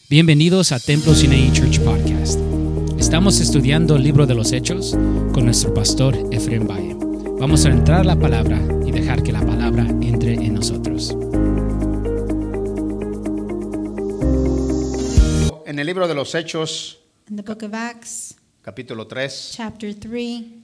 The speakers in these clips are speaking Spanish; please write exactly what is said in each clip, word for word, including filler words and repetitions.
Bienvenidos a Templo Sinaí Church Podcast. Estamos estudiando el libro de los Hechos con nuestro pastor Efraín Valle. Vamos a entrar a la palabra y dejar que la palabra entre en nosotros. En el libro de los Hechos, In the book of Acts, capítulo tres, chapter three,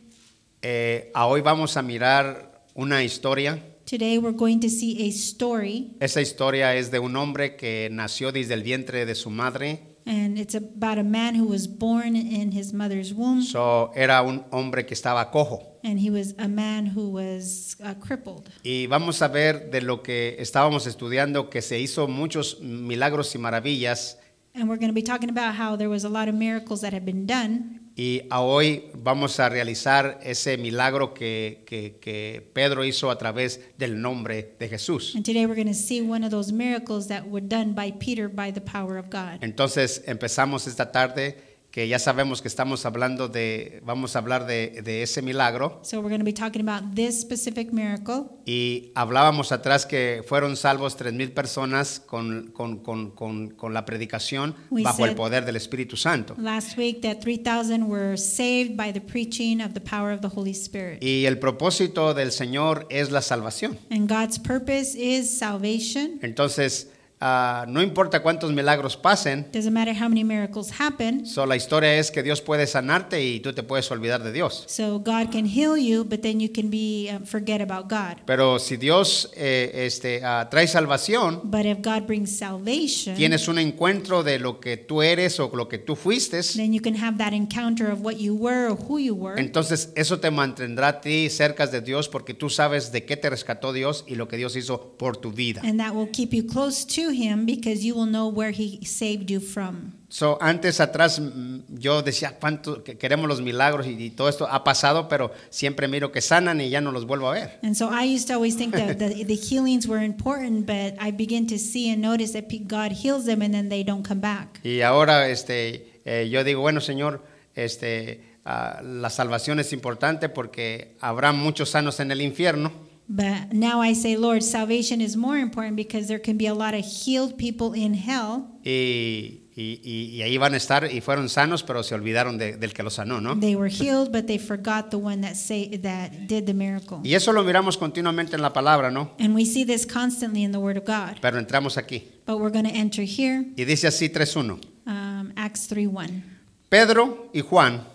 eh, a hoy vamos a mirar una historia. today we're going to see a story, Esa historia es de un hombre que nació desde el vientre de su madre. and it's about a man who was born in his mother's womb, So, era un hombre que estaba cojo. and he was a man who was uh, crippled. Y vamos a ver de lo que estábamos estudiando, que se hizo muchos milagros y maravillas. And we're going to be talking about how there was a lot of miracles that had been done. Y a hoy vamos a realizar ese milagro que, que, que Pedro hizo a través del nombre de Jesús. And today we're going to see one of those miracles that were done by Peter by the power of God. Entonces empezamos esta tarde, que ya sabemos que estamos hablando de, vamos a hablar de, de ese milagro. So we're going to be talking about this specific miracle. Y hablábamos atrás que fueron salvos tres mil personas con, con, con, con, con la predicación We bajo el said poder del Espíritu Santo. Last week that three thousand were saved by the preaching of the power of the Holy Spirit. Y el propósito del Señor es la salvación. And God's purpose is salvation. Entonces, uh, no importa cuántos milagros pasen, Doesn't matter how many miracles happen. so la historia es que Dios puede sanarte y tú te puedes olvidar de Dios. So God can heal you, but then you can be uh, forget about God. Pero si Dios eh, este, uh, trae salvación, But if God brings salvation, tienes un encuentro de lo que tú eres o lo que tú fuiste, then you can have that encounter of what you were or who you were. entonces eso te mantendrá a ti cerca de Dios porque tú sabes de qué te rescató Dios y lo que Dios hizo por tu vida. And that will keep you close to Him because you will know where He saved you from. So, antes atrás mm, yo decía cuánto que queremos los milagros y, y todo esto ha pasado, pero siempre miro que sanan y ya no los vuelvo a ver. And so I used to always think that the, the healings were important, but I begin to see and notice that pe- God heals them and then they don't come back. Y ahora este, eh, yo digo, bueno, Señor, este, ah, la salvación es importante porque habrá muchos sanos en el infierno. But now I say, Lord, salvation is more important because there can be a lot of healed people in hell. Y, y, y, y ahí van a estar y fueron sanos, pero se olvidaron de- del que los sanó, ¿no? They were healed, but they forgot the one that say that did the miracle. Y eso lo miramos continuamente en la palabra, ¿no? And we see this constantly in the Word of God. Pero entramos aquí. But we're going to enter here, Y dice así tres uno. um, Acts three one. Pedro y Juan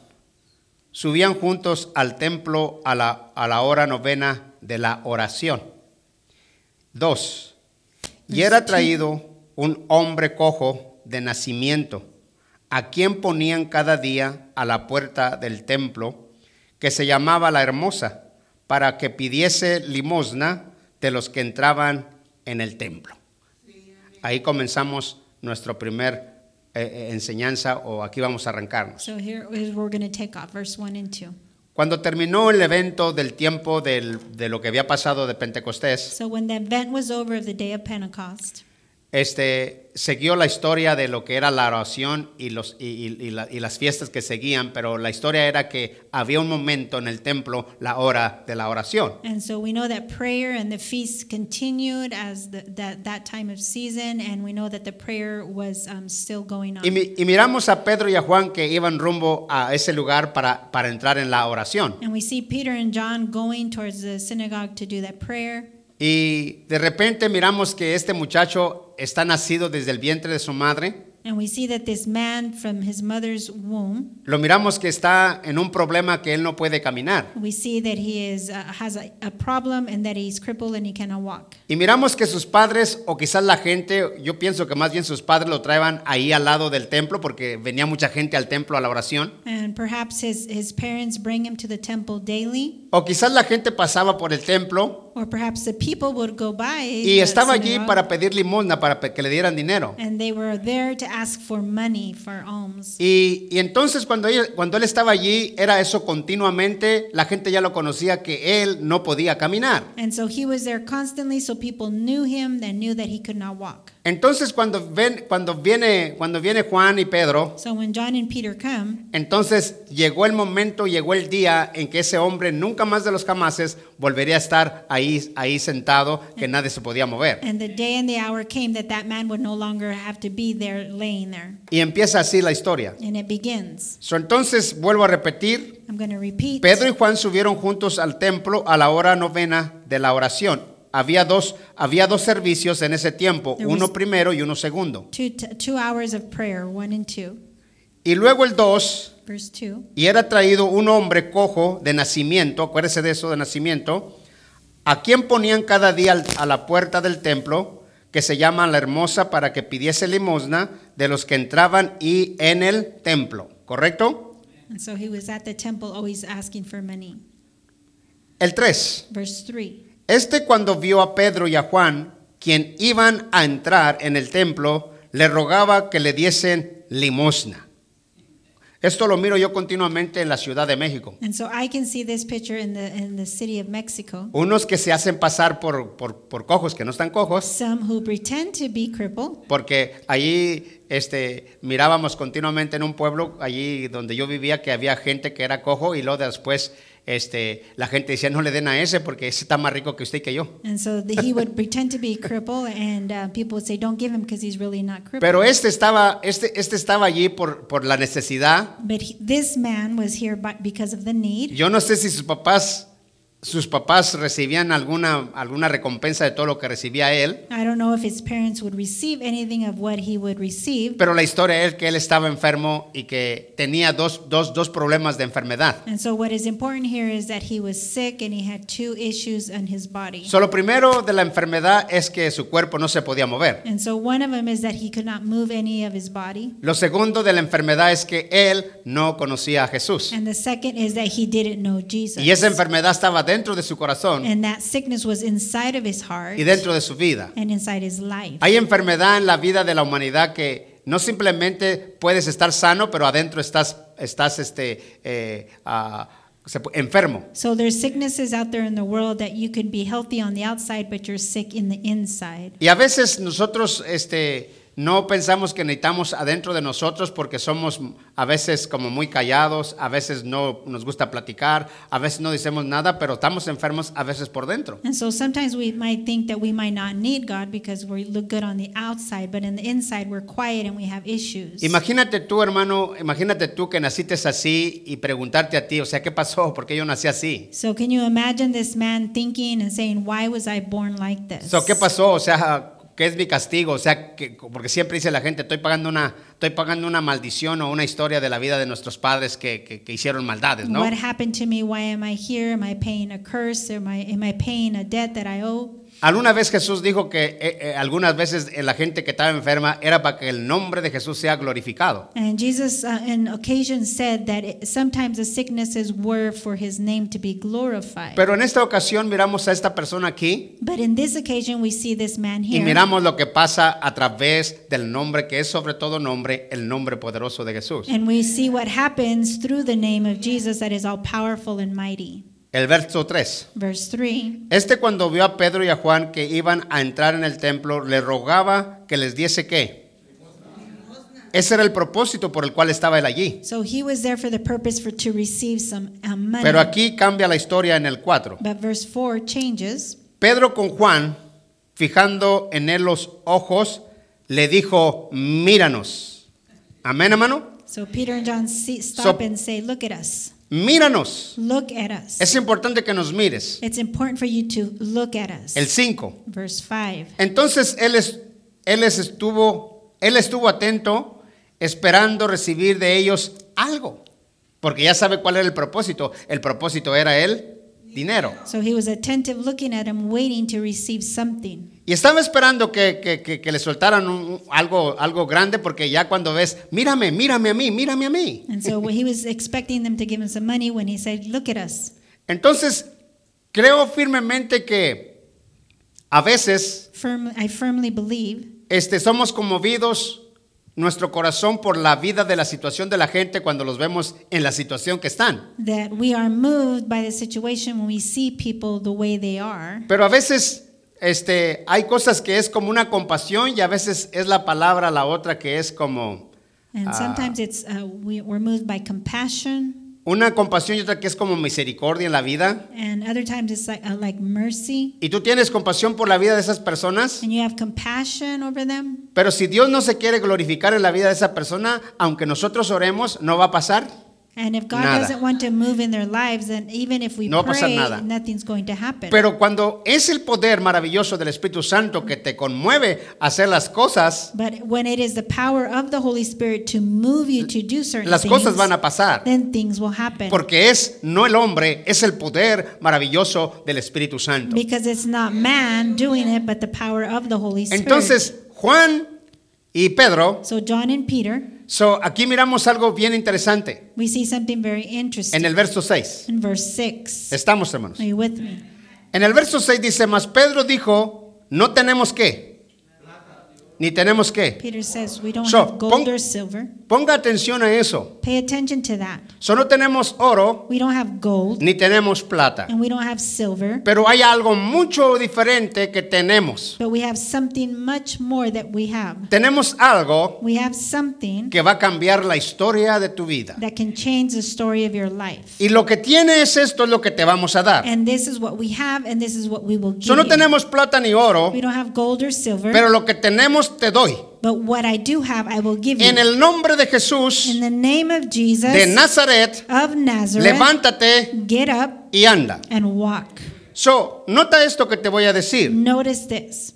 subían juntos al templo a la, a la hora novena de la oración. Dos. Y era traído un hombre cojo de nacimiento, a quien ponían cada día a la puerta del templo, que se llamaba La Hermosa, para que pidiese limosna de los que entraban en el templo. Ahí comenzamos nuestro primer eh, enseñanza, o aquí vamos a arrancarnos. So here is where we're going to take off, verse one and two. Cuando terminó el evento del tiempo del- de lo que había pasado de Pentecostés, So when the event was over of the day of Pentecost, este, siguió la historia de lo que era la oración y, los, y, y- y la- y las fiestas que seguían, pero la historia era que había un momento en el templo, la hora de la oración. and so we know that prayer and the feast continued as the, that, that time of season, and we know that the prayer was um, still going on. Y, mi- y miramos a Pedro y a Juan que iban rumbo a ese lugar para, para entrar en la oración. And we see Peter and John going towards the synagogue to do that prayer. Y de repente miramos que este muchacho está nacido desde el vientre de su madre. And we see that this man from his mother's womb, Lo miramos que está en un problema que él no puede caminar. we see that he is, uh, has a, a problem and that he's crippled and he cannot walk. Y miramos que sus padres, o quizás la gente, yo pienso que más bien sus padres lo traían ahí al lado del templo porque venía mucha gente al templo a la oración. And perhaps his, his parents bring him to the temple daily, O quizás la gente pasaba por el templo or perhaps the people would go by y the estaba allí synagogue, para pedir limosna, para pe- que le dieran dinero. and they were there to ask for money, for alms. Y, y entonces cuando, ella- cuando él estaba allí, era eso continuamente, la gente ya lo conocía que él no podía caminar. And so he was there constantly, so people knew him and knew that he could not walk. Entonces cuando ven, cuando viene, cuando viene Juan y Pedro, So when John and Peter come, entonces llegó el momento, llegó el día en que ese hombre nunca más de los jamases volvería a estar ahí, ahí sentado, que nadie se podía mover. and the day and the hour came that that man would no longer have to be there laying there. Y empieza así la historia. And it begins. So, entonces vuelvo a repetir, I'm going to repeat. Pedro y Juan subieron juntos al templo a la hora novena de la oración. Había dos, había dos servicios en ese tiempo, There uno was- primero y uno segundo. Two, t- two hours of prayer, one and two. Y luego el dos, Verse two. y era traído un hombre cojo de nacimiento, acuérdese de eso de nacimiento, a quien ponían cada día al- a la puerta del templo, que se llama La Hermosa, para que pidiese limosna de los que entraban y en el templo, ¿correcto? And so he was at the temple always asking for money. El tres. Verse three. Este cuando vio a Pedro y a Juan, quien iban a entrar en el templo, le rogaba que le diesen limosna. Esto lo miro yo continuamente en la Ciudad de México. And so I can see this picture in the in the city of Mexico. Unos que se hacen pasar por, por, por cojos, que no están cojos, Some who pretend to be crippled, porque allí este, mirábamos continuamente en un pueblo, allí donde yo vivía, que había gente que era cojo y luego después este, la gente decía, no le den a ese porque ese está más rico que usted y que yo. and so the, he would pretend to be crippled, and uh, people would say, "Don't give him because he's really not crippled." Pero este estaba, este, este estaba allí por, por la necesidad. But he, this man was here by, because of the need. Yo no sé si sus papás, sus papás recibían alguna, alguna recompensa de todo lo que recibía él, I don't know if his parents would receive anything of what he would receive. pero la historia es que él estaba enfermo y que tenía dos, dos, dos problemas de enfermedad. And so what is important here is that he was sick and he had two issues in his body. So, lo primero de la enfermedad es que su cuerpo no se podía mover. And so one of them is that he could not move any of his body. Lo segundo de la enfermedad es que él no conocía a Jesús. And the second is that he didn't know Jesus. Y esa enfermedad estaba dentro de su corazón And that sickness was inside of his heart y dentro de su vida. and inside his life. Hay enfermedad en la vida de la humanidad que no simplemente puedes estar sano, pero adentro estás, estás este, eh, ah, se pu- enfermo. So there's sicknesses out there in the world that you can be healthy on the outside, but you're sick in the inside. Y a veces nosotros este, no pensamos que necesitamos adentro de nosotros porque somos a veces como muy callados, a veces no nos gusta platicar, a veces no decimos nada, pero estamos enfermos a veces por dentro. And so sometimes we might think that we might not need God because we look good on the outside, but in the inside we're quiet and we have issues. Imagínate tú, hermano, imagínate tú que naciste así y preguntarte a ti, o sea, ¿qué pasó? ¿Por qué yo nací así? So can you imagine this man thinking and saying, "Why was I born like this?" So, ¿qué pasó? O sea, ¿qué es mi castigo? O sea, que, porque siempre dice la gente, estoy pagando una, estoy pagando una maldición o una historia de la vida de nuestros padres que, que, que hicieron maldades, ¿no? What happened to me? Why am I here? Am I paying a curse? Am I, am I paying a debt that I owe? Alguna vez Jesús dijo que eh, eh, algunas veces eh, la gente que estaba enferma era para que el nombre de Jesús sea glorificado. And Jesus, uh, in occasion, said that it, sometimes the sicknesses were for his name to be glorified. Pero en esta ocasión miramos a esta persona aquí But in this occasion, we see this man y here. miramos lo que pasa a través del nombre que es sobre todo nombre, el nombre poderoso de Jesús. And we see what happens through the name of Jesus that is all powerful and mighty. El verso tres. Verse three. Este cuando vio a Pedro y a Juan que iban a entrar en el templo, le rogaba que les diese ¿qué? Ese era el propósito por el cual estaba él allí. So he was there for the purpose for to receive some um, money. Pero aquí cambia la historia en el cuatro. But verse four changes. Pedro con Juan, fijando en él los ojos, le dijo, míranos. Amén, hermano. So Peter and John see, stop So- and say, "Look at us. Míranos. Look at us." Es importante que nos mires. It's important for you to look at us. El cinco. Verse five. Entonces él, es, él es estuvo, él estuvo atento, esperando recibir de ellos algo, porque ya sabe cuál era el propósito. El propósito era el dinero. So he was attentive looking at him, waiting to receive something. Y estaba esperando que, que, que, que le soltaran un- algo, algo grande, porque ya cuando ves, mírame, mírame a mí, mírame a mí. And so he was expecting them to give him some money when he said, "Look at us." Entonces, creo firmemente que a veces Firm, I firmly believe este, somos conmovidos nuestro corazón por la vida de la situación de la gente cuando los vemos en la situación que están. that we are moved by the situation when we see people the way they are. Pero a veces este, hay cosas que es como una compasión y a veces es la palabra la otra que es como And Ah. sometimes it's uh, we, we're moved by compassion, una compasión y otra que es como misericordia en la vida. and other times it's like uh, like mercy, Y tú tienes compasión por la vida de esas personas, and you have compassion over them. pero si Dios no se quiere glorificar en la vida de esa persona, aunque nosotros oremos, no va a pasar. And if God Nada. doesn't want to move in their lives, then even if we No va a pasar pray, nada. nothing's going to happen. Pero cuando es el poder maravilloso del Espíritu Santo que te conmueve a hacer las cosas, But when it is the power of the Holy Spirit to move you to do certain las things, cosas van a pasar. then things will happen. Porque es no el hombre, es el poder maravilloso del Espíritu Santo. Because it's not man doing it, but the power of the Holy Spirit. Entonces, Juan y Pedro, so John and Peter, so, aquí miramos algo bien interesante we see something very interesting en el verso seis. in verse six. Estamos, hermanos. Are you with me? En el verso seis dice, mas Pedro dijo, no tenemos qué, ni tenemos qué. Peter says we don't So, have gold pon- or silver. Ponga atención a eso. Pay attention to that. So, no tenemos oro, We don't have gold ni tenemos plata. and we don't have silver, Pero hay algo mucho diferente que tenemos. but we have something much more that we have. Tenemos algo We have something que va a cambiar la historia de tu vida. that can change the story of your life. Y lo que tiene es esto, es lo que te vamos a dar. And this is what we have, and this is what we will give So, no you. tenemos plata ni oro, We don't have gold or silver, pero lo que tenemos te doy. but what I do have, I will give En you. el nombre de Jesús In the name of Jesus de Nazaret, of Nazareth, levántate get up y anda. and walk. So, nota esto que te voy a decir. Notice this.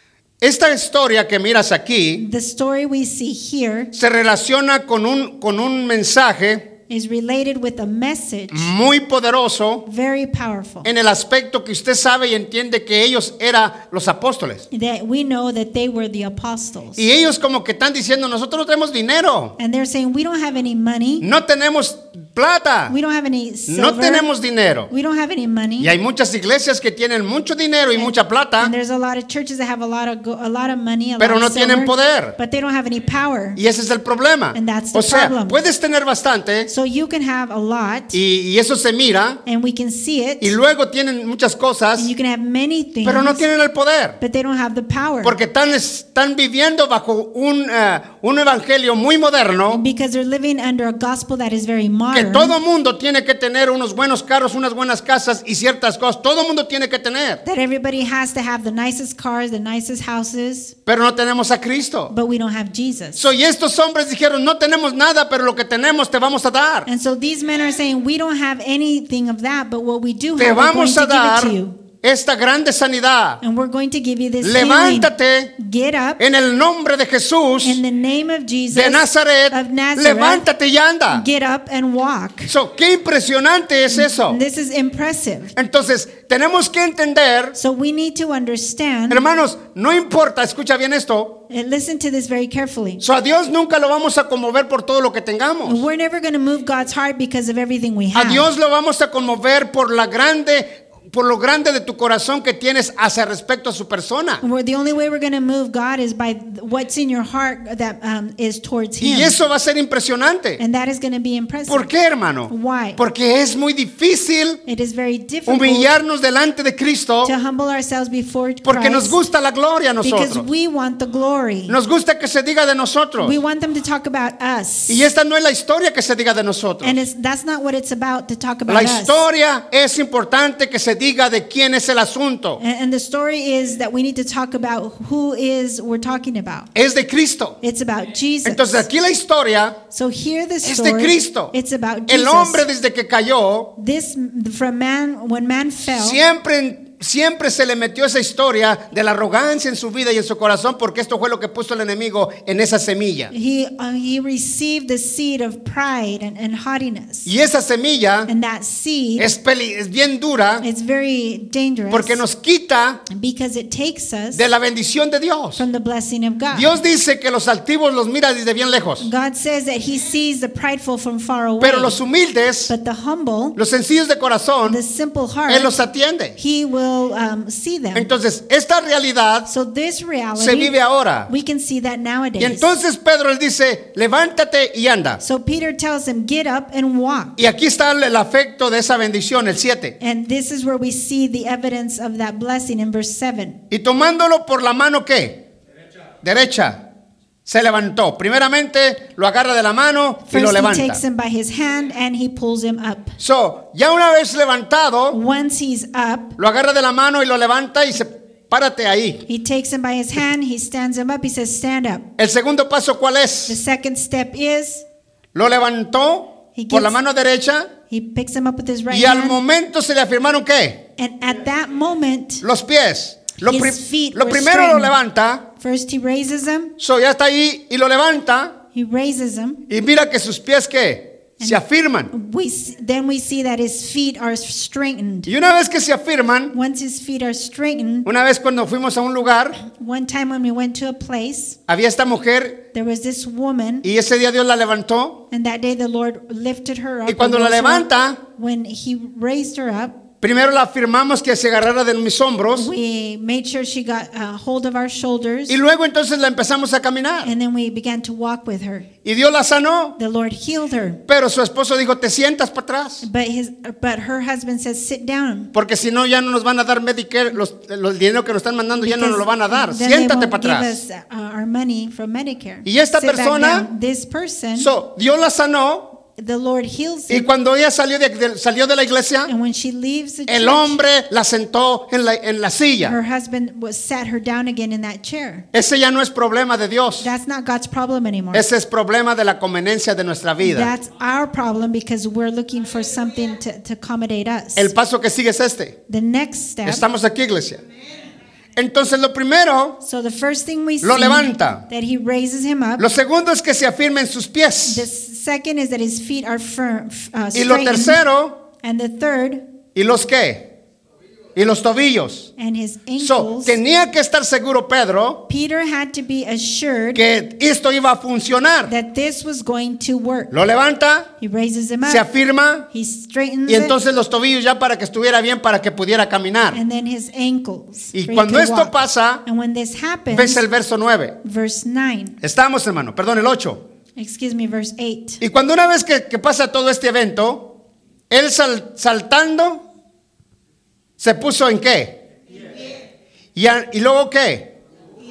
Esta historia que miras aquí The story we see here se relaciona con un, con un mensaje is related with a message muy poderoso very powerful en el aspecto que usted sabe y entiende que ellos eran los apóstoles. that we know that they were the apostles. Y ellos como que están diciendo, nosotros no tenemos dinero, And they're saying, we don't have any money, no tenemos plata, we don't have any silver, no tenemos dinero. we don't have any money. Y hay muchas iglesias que tienen mucho dinero y mucha plata, And there's a lot of churches that have a lot of go- a lot of money, a pero lot no of tienen silver, poder. but they don't have any power. Y ese es el problema. And that's the O sea, problem. puedes tener bastante So you can have a lot, y, y eso se mira, and we can see it, y luego tienen muchas cosas, and you can have many things, pero no tienen el poder. but they don't have the power. Porque están, están viviendo bajo un, eh, un evangelio muy moderno, Because they're living under a gospel that is very que modern. todo mundo tiene que tener unos buenos carros, unas buenas casas y ciertas cosas. Todo mundo tiene que tener. That everybody has to have the nicest cars, the nicest houses, Pero no tenemos a Cristo. but we don't have Jesus. So, y estos hombres dijeron, no tenemos nada, pero lo que tenemos te vamos a dar. And so these men are saying, we don't have anything of that, but what we do Te have, we're going vamos to a give it dar to you. esta grande sanidad. And we're going to give you this healing. Levántate Get up en el nombre de Jesús in the name of Jesus de Nazaret. of Nazareth. Levántate y anda. Get up and walk. So, qué impresionante es eso. This is impressive. Entonces, tenemos que entender, So we need to understand, hermanos, no importa, escucha bien esto. and listen to this very carefully. So, a Dios nunca lo vamos a conmover por todo lo que tengamos. We're never going to move God's heart because of everything we A have. Dios lo vamos a conmover por la grande, por lo grande de tu corazón que tienes hacia respecto a su persona. We're, the only way we're going to move God is by what's in your heart that um, is towards Him. Y eso va a ser impresionante. And that is going to be impressive. ¿Por qué, hermano? Why? Porque es muy difícil It is very difficult humillarnos delante de Cristo to humble ourselves before porque nos Christ gusta la gloria a because nosotros. we want the glory. Nos gusta que se diga de nosotros. We want them to talk about us. Y esta no es la historia que se diga de nosotros. And it's, that's not what it's about to talk about La us. historia es importante que se diga de quién es el asunto. And, and the story is that we need to talk about who is we're talking about. Es de Cristo. It's about Jesus. Entonces aquí la historia So here the es de story, Cristo. it's about Jesus. El hombre desde que cayó, This from man when man fell, siempre Siempre se le metió esa historia de la arrogancia en su vida y en su corazón, porque esto fue lo que puso el enemigo en esa semilla. he uh, he received the seed of pride and, and haughtiness. Y esa semilla And that seed es, peli- es bien dura is very dangerous porque nos quita because it takes us de la bendición de Dios. from the blessing of God. Dios dice que los altivos los mira desde bien lejos, God says that he sees the prideful from far away. pero los humildes, But the humble, los sencillos de corazón, the simple heart, Él los atiende. he will still um, see them. Entonces, esta realidad So this reality, se vive ahora. we can see that nowadays. Y entonces Pedro le dice, levántate y anda. So Peter tells him, get up and walk. Y aquí está el afecto de esa bendición, el siete. And this is where we see the evidence of that blessing in verse seven. Y tomándolo por la mano, ¿qué? Derecha. Derecha. Se levantó. Primeramente lo agarra de la mano y First lo he levanta. takes him by his hand and he pulls him up. So, ya una vez levantado, Once he's up, lo agarra de la mano y lo levanta y se párate ahí. he takes him by his hand, he stands him up, he says, stand up. El segundo paso, ¿cuál The es? second step is, Lo levantó He por la gets- mano derecha he picks him up with his right y al hand. momento se le afirmaron ¿qué? And at that moment, Los pies. Lo, His pri- feet lo were primero lo straightened. levanta, first he raises him, so ya está ahí y lo levanta he raises him. y mira que sus pies ¿qué? Se afirman. We s- then we see that his feet are straightened. Y una vez que se afirman, Once his feet are straightened, una vez cuando fuimos a un lugar, one time when we went to a place, había esta mujer there was this woman, y ese día Dios la levantó. and that day the Lord lifted her up. Y cuando and la rose her up. levanta, When he raised her up, primero la afirmamos que se agarrara de mis hombros we made sure she got a hold of our shoulders, y luego entonces la empezamos a caminar. and then we began to walk with her. Y Dios la sanó, The Lord healed her, pero su esposo dijo, te sientas para atrás, but his but her husband says, sit down. porque si no ya no nos van a dar Medicare, los, los dinero que nos están mandando ya no nos lo van a dar. Then they Siéntate won't para give atrás. us, uh, our money from Medicare. Y esta Sit back persona- down. This person, So, Dios la sanó the Lord heals y him, cuando ella salió de, de- salió de la iglesia, and when she leaves the el church, hombre la sentó en la, en la silla. her husband was sat her down again in that chair. Ese ya no es problema de Dios. That's not God's problem anymore. Ese es problema de la conveniencia de nuestra vida. That's our problem because we're looking for something to, to accommodate us. El paso que sigue es este. The next step. Estamos aquí, iglesia. Entonces lo primero, So the first thing we see Lo levanta. that he raises him up. lo segundo es que se afirmen sus The pies. second is that his feet are firm, uh, Y lo straightened. tercero, And the third, ¿y los qué? Y los tobillos. and his So, ankles. tenía que estar seguro Pedro Peter had to be assured que esto iba a funcionar. that this was going to work. Lo levanta, He raises him up. se afirma He straightens y entonces los tobillos ya para que estuviera bien para que pudiera it, caminar. and then his ankles. Y for he cuando could esto walk. pasa, And when this happens, ves el verso nueve. verse nine, Estamos, hermano, perdón, el ocho. excuse me, verse eight. Y cuando una vez que, que pasa todo este evento, él sal- saltando, se puso en qué? Y, a- y luego qué?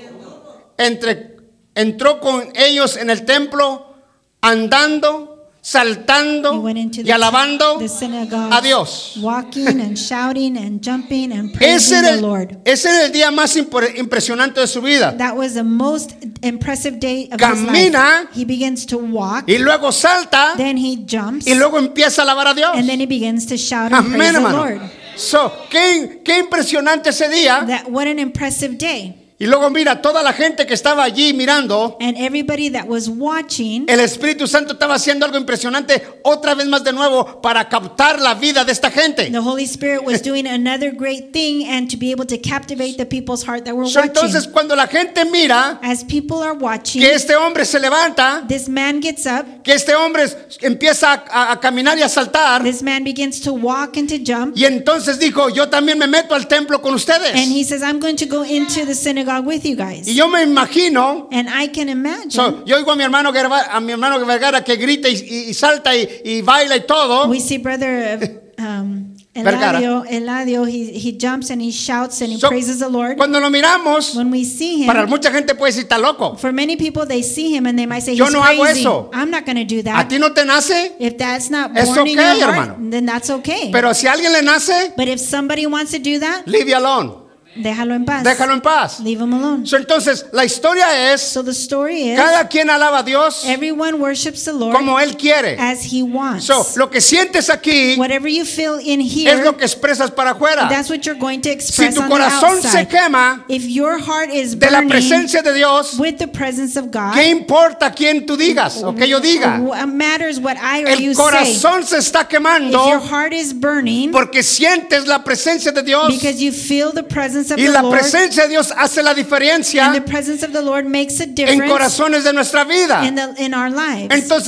Entre, entró con ellos en el templo, andando, He saltando went into y the, alabando the synagogue, a Dios. walking and shouting and jumping and praising Ese era, the el, Lord. ese era el día más impor- impresionante de su vida. That was the most impressive day of Camina, his life. He begins to walk, Y luego salta then he jumps, y luego empieza a alabar a Dios. and then he begins to shout and Amén, praise the hermano. Lord. So, qué, qué impresionante ese día. That what an impressive day. Y luego mira, toda la gente que estaba allí mirando, And everybody that was watching, el Espíritu Santo estaba haciendo algo impresionante otra vez más de nuevo para captar la vida de esta gente. the Holy Spirit was doing another great thing and to be able to captivate the people's heart that were So, watching. entonces cuando la gente mira As people are watching, que este hombre se levanta, this man gets up, que este hombre empieza a, a- a caminar y a saltar, this man begins to walk and to jump, y entonces dijo, yo también me meto al templo con ustedes. and he says, I'm going to go into the synagogue with you guys. Y yo me imagino, And I can imagine, so, yo oigo a mi hermano Guerra- a mi hermano Vergara que grita y, y- y salta y, y baila y todo. we see brother uh, um, Vergara. Eladio, Eladio he, he jumps and he shouts and he So, praises the Lord. Cuando lo miramos, When we see him, para mucha gente puede decir, está loco. for many people, they see him and they might say, Yo he's no hago crazy. eso. I'm not going to do ¿A that. ti no te nace? If that's not Es born in okay, your heart, hermano. then that's okay. Pero si a alguien le nace, But if somebody wants to do that, leave it alone. déjalo en paz. Déjalo en paz. Leave him alone. So, entonces, la historia es, So the story is, cada quien alaba a Dios everyone worships the Lord como Él quiere. as he wants. So, lo que sientes aquí Whatever you feel in es here, lo que expresas para afuera. that's what you're going to Si express tu on the corazón se outside. quema If your heart is de la burning presencia de Dios, with the presence of God, ¿qué importa quién tú digas o que yo diga? what matters what I or El you say. corazón se está If your quemando heart is burning porque sientes la presencia de Dios because you feel the presence of y the la Lord, presencia de Dios hace la and the diferencia presence of the Lord makes a en difference corazones de nuestra vida. in, the, in our lives. Entonces,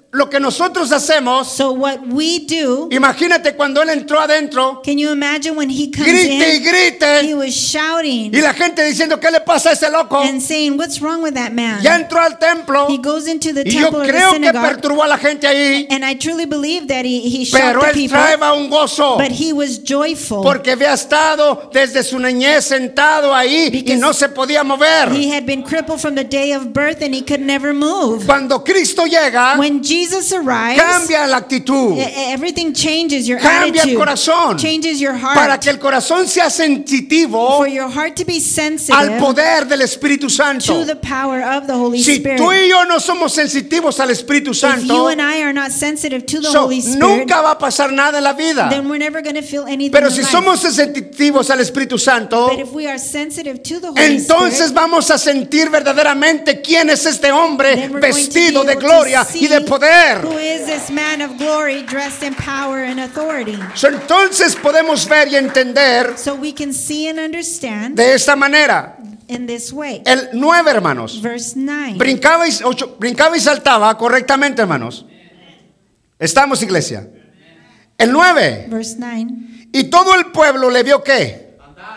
lo que nosotros hacemos, So what we do, imagínate cuando él entró adentro, can you imagine when he comes grite y in, he grite, was shouting y la gente diciendo, ¿qué le pasa a ese loco? and saying, what's wrong with that man? Ya entró al templo, He goes into the y yo temple or the creo que synagogue, perturbó a la gente ahí, and I truly believe that he, he shocked pero the él people, traeba un gozo, but he was joyful porque había estado desde su niñez sentado ahí y Because no se podía mover. he had been crippled from the day of birth and he could never move. Cuando Cristo llega, When Jesus arrives, cambia la actitud, e- everything changes, your cambia el attitude corazón, changes your para heart, que el corazón sea sensitivo for your heart to be sensitive al poder del Espíritu Santo. to the power of the Holy Si Spirit. tú y yo no somos sensitivos al Espíritu If you Santo, and I are not sensitive to the so, Holy Spirit, nunca va a pasar nada en la vida. then we're never going to feel anything Pero in si life. somos sensitivos al Espíritu Santo, But if we are sensitive to the Holy entonces Spirit, vamos a sentir verdaderamente quién es este hombre then we're going to be vestido de able to gloria see y de poder. who is this man of glory dressed in power and authority. So, entonces podemos ver y entender So we can see and understand de esta manera. in this way. El nueve, hermanos, Verse nine. brincaba y, ocho, brincaba y saltaba correctamente, hermanos. Estamos, iglesia. El nueve. Verse nine. Y todo el pueblo le vio qué.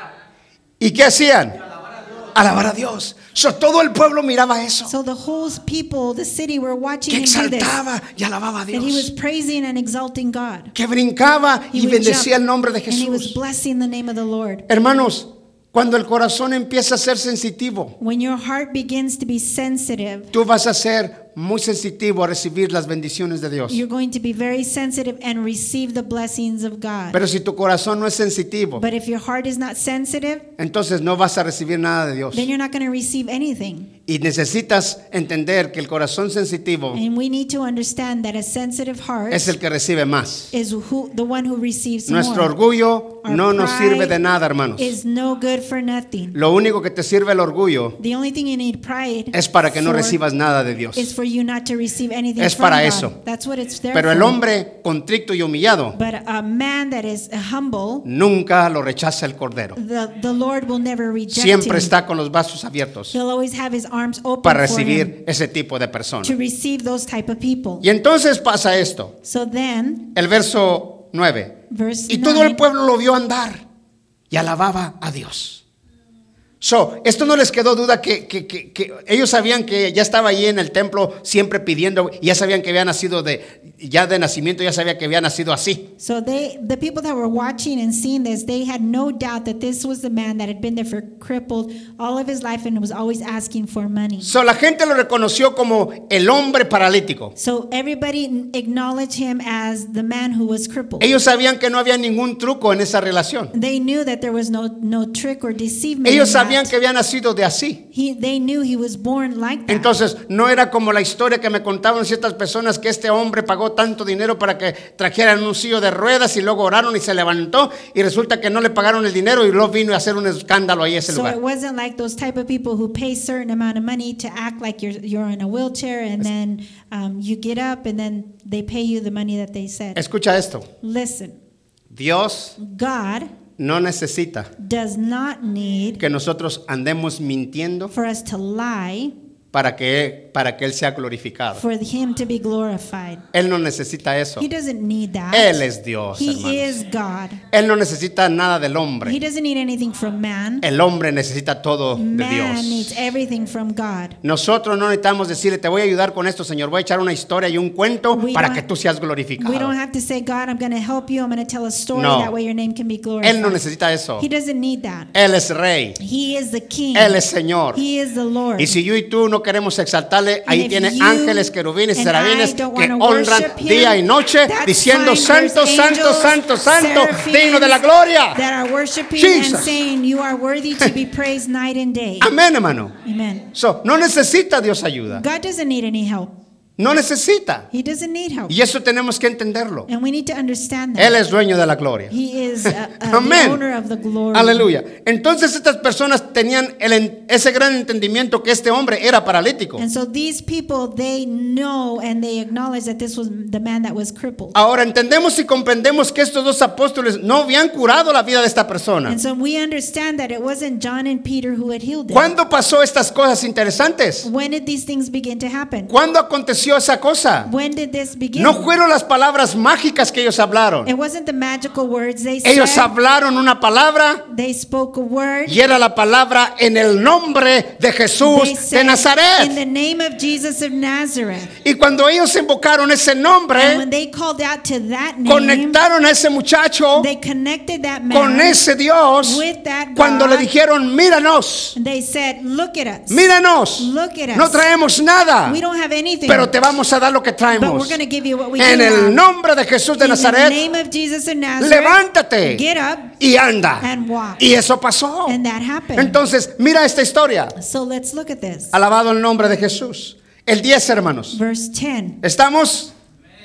¿Y qué hacían? Alabar a Dios. So, todo el pueblo miraba eso. So the whole people, the city, were watching Que him do this. exaltaba y alababa a That he was Dios. praising and exalting God. Que brincaba He y would bendecía jump, el nombre de and he was Jesús. blessing the name of the Lord. Hermanos, cuando el corazón empieza a ser sensitivo, When your heart begins to be sensitive, tú vas a ser muy sensitivo a recibir las bendiciones de Dios. you're going to be very sensitive and receive the blessings of God. Pero si tu corazón no es sensitivo, But if your heart is not sensitive, entonces no vas a recibir nada de Dios. then you're not going to receive anything. Y necesitas entender que el corazón sensitivo And we need to understand that a sensitive heart es el que recibe más. is who, the one who receives Nuestro more. orgullo Our no nos pride sirve de nada, hermanos. is no good for nothing. Lo único que te sirve el orgullo The only thing you need pride es para que no for recibas nada de Dios. is for you not to receive anything Es from para God. eso. That's what it's there Pero el for. hombre contrito y humillado But a man that is humble, nunca lo rechaza el cordero. the, the Lord will never reject Siempre him. está con los brazos abiertos He'll always have his arms open para for him recibir ese tipo de personas. to receive those type of people. Y entonces pasa esto. So then, El verso nueve. verse Y todo el nine, pueblo lo vio andar y alababa a Dios. So, esto no les quedó duda que, que, que, que ellos sabían que ya estaba allí en el templo siempre pidiendo, y ya sabían que había nacido de, ya de nacimiento ya sabía que había nacido así. So they, the people that were watching and seeing this, they had no doubt that this was the man that had been there for crippled all of his life and was always asking for money. So, la gente lo reconoció como el hombre paralítico. So everybody acknowledged him as the man who was crippled. Ellos sabían que no había ningún truco en esa relación. They knew that there was no, no trick or deceivement. Ellos in that. sabían que había nacido de así. He, they knew he was born like that. Entonces, no era como la historia que me contaban ciertas personas que este hombre pagó tanto dinero para que trajeran un sillo de ruedas y luego oraron y se levantó y resulta que no le pagaron el dinero y luego vino a hacer un escándalo ahí en ese So lugar. it wasn't like those type of people who pay certain amount of money to act like you're you're in a wheelchair and then um, you get up and then they pay you the money that they said. Escucha esto. Listen, Dios God no necesita does not need que nosotros andemos mintiendo for us to lie para que, para que Él sea glorificado. for him to be glorified. Él no necesita eso. He doesn't need that. Él es Dios, He hermanos. is God. Él no necesita nada del He hombre. doesn't need anything from man. El hombre necesita todo de Man needs Dios. everything from God. Nosotros no necesitamos decirle, te voy a ayudar con esto, Señor. Voy a echar una historia y un cuento We para don't- que tú seas We glorificado. don't have to say, God, I'm going to help you. I'm going to tell a story. No. That way your name can be glorified. Él no necesita eso. He doesn't need that. Él es rey. He is the king. Él es Señor. He is the Lord. Y si yo y tú no queremos exaltarle, ahí if tiene you ángeles, querubines y and serafines I don't que wanna honran worship him, día y noche that's diciendo fine. santo, There's santo, angels, santo, santo, seraphims digno de la gloria. that are worshiping Jesus. and saying you are worthy to be praised night and day. Amén, hermano. Amen. So, no necesita Dios ayuda. God doesn't need any help. No necesita. He doesn't need help. Y eso tenemos que entenderlo. And we need to understand that. Él es dueño de la gloria. He is uh, uh, the Amén. owner of the glory. Aleluya. Entonces estas personas tenían el en- ese gran entendimiento que este hombre era paralítico. And so these people, they know and they acknowledge that this was the man that was crippled. Ahora entendemos y comprendemos que estos dos apóstoles no habían curado la vida de esta persona. And so we understand that it wasn't John and Peter who had healed him. ¿Cuándo pasó estas cosas interesantes? When did these things begin to happen? ¿Cuándo aconteció inició esa cosa? When did this begin? No fueron las palabras mágicas que ellos hablaron. It wasn't the magical words they Ellos said. hablaron una palabra They spoke a word. y era la palabra en el nombre de They Jesús de said, in Nazaret. the name of Jesus of Nazareth. Y cuando ellos invocaron ese And nombre, when they called out to that name, conectaron a ese muchacho they connected that con man ese Dios. with that Cuando le God. dijeron, míranos, And they said, look at us. míranos, Look at us. no traemos nada, We don't have anything, pero te vamos a dar lo que but we're traemos. going to give you what we En do el have. nombre de Jesús de In the Nazaret, name of Jesus of Nazareth, levántate get up y anda. and walk. Y eso pasó. And that happened. Entonces, mira esta historia. So let's look at this. Alabado el nombre de Jesús. El diez, hermanos. Verse ten. ¿Estamos?